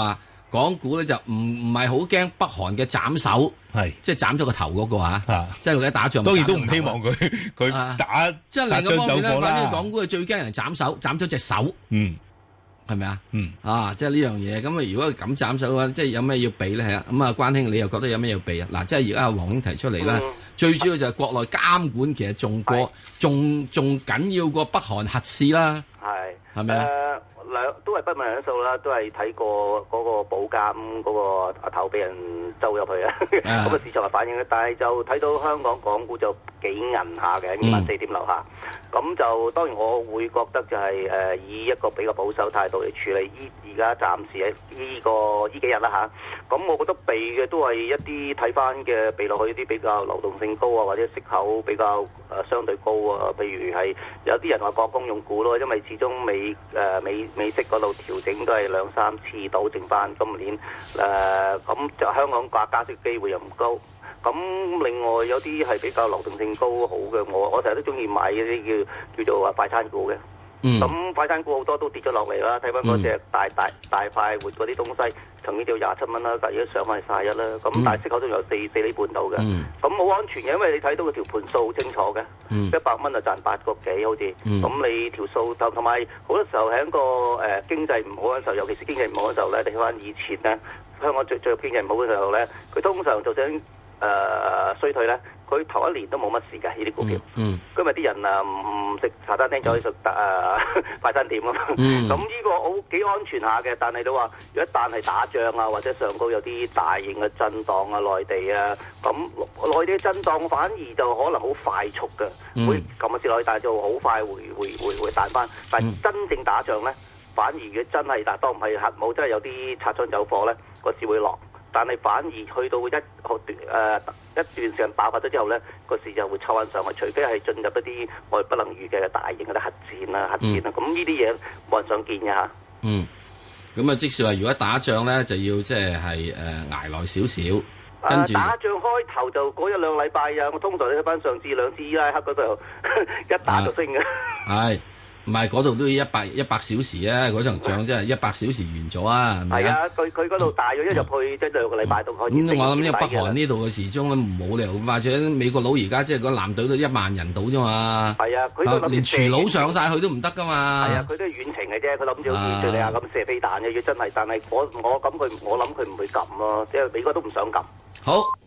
港股咧就唔唔係好驚北韓嘅斬首， 係即係斬咗個頭嗰個嚇，即係佢一打仗。 當然都唔希望佢佢打即係另一方面咧，反正港股係最驚人斬手，斬咗隻手。 嗯。 係咪啊？ 嗯啊，即係呢樣嘢咁啊！如果咁斬手嘅話，即係有咩要避咧？係啊，咁啊，關兄你又覺得有咩要避啊？嗱，即係而家阿黃兄提出嚟啦，嗯、最主要就係國內監管其實仲過，仲仲緊要過北韓核試啦。 係係咪啊？ 兩都係不問因素啦，都係睇過嗰個保監嗰個阿頭俾人周入去啊，咁個市場係反應嘅，但係就睇到香港港股就幾銀下嘅，二萬四點樓下，咁、嗯、就當然我會覺得就係、是、誒、呃、以一個比較保守態度嚟處理依而家暫時喺依、這個依幾日啦嚇，咁、啊、我覺得避嘅都係一啲睇翻嘅避落去一啲比較流動性高啊，或者息口比較誒、呃、相對高啊，譬如係有啲人話國公用股咯，因為始終美誒、呃、美。美息嗰度調整都係兩三次到，剩翻今年誒咁就香港加加息機會又唔高。咁另外有啲係比較流動性高好嘅，我我成日都中意買嗰啲叫叫做話快餐股嘅。咁、嗯、快餐股好多都跌咗落嚟啦，睇翻嗰隻大大大快活嗰啲東西，曾經就廿七蚊啦，但係而家上翻去卅一啦。咁、嗯、但係息口都有四四厘半到嘅，咁好、嗯、安全嘅，因為你睇到個條盤數好清楚嘅，一百蚊就賺八個幾好似。咁、嗯、你條數同同埋好多時候喺個誒、呃、經濟唔好嘅時候，尤其是經濟唔好嘅時候咧，你睇翻以前咧，香港最最經濟唔好嘅時候咧，佢通常就想誒、呃、衰退咧。佢頭一年都冇乜事嘅呢啲股票，嗯，今日啲人啊唔唔食茶餐廳就去食誒快餐店啊嘛，咁呢、嗯、個好幾安全下嘅，但係都話如果一旦係打仗啊或者上高有啲大型嘅震盪啊，內地啊，咁內地嘅震盪反而就可能好快速嘅，嗯、會撳一次落去，但係就好快會會會會彈翻，但係真正打仗咧，反而如果真係但當唔係核武，真係有啲擦槍走火咧，個市會落。但係反而去到一好段誒一段時間爆發咗之後咧，個市就會抽翻上去，除非係進入一啲我哋不能預計嘅大型嘅核戰啦、核戰啦，咁呢啲嘢冇人想見嘅嚇。嗯，咁啊，即使話如果打仗咧，就要即係係誒捱耐少少，跟住、呃、打仗開頭就嗰一兩禮拜啊，我通常睇翻上次兩次伊拉克嗰度一打就升嘅。係、啊。唔係嗰度都要一百一百小時啊！嗰場仗真係一百小時完咗啊！係咪啊？係啊，佢佢嗰度大約一入去即係兩個禮拜都可以。咁我諗呢個北韓呢度嘅時鐘咧冇理由，或者美國佬而家即係個艦隊都一萬人到啫嘛。係啊，佢都連廚佬上晒去都唔得噶嘛。係啊，佢都係遠程嘅啫，佢諗住好似敘利亞咁射飛彈嘅，要真係，但係我我咁佢我諗佢唔會撳咯，即係美國都唔想撳。好。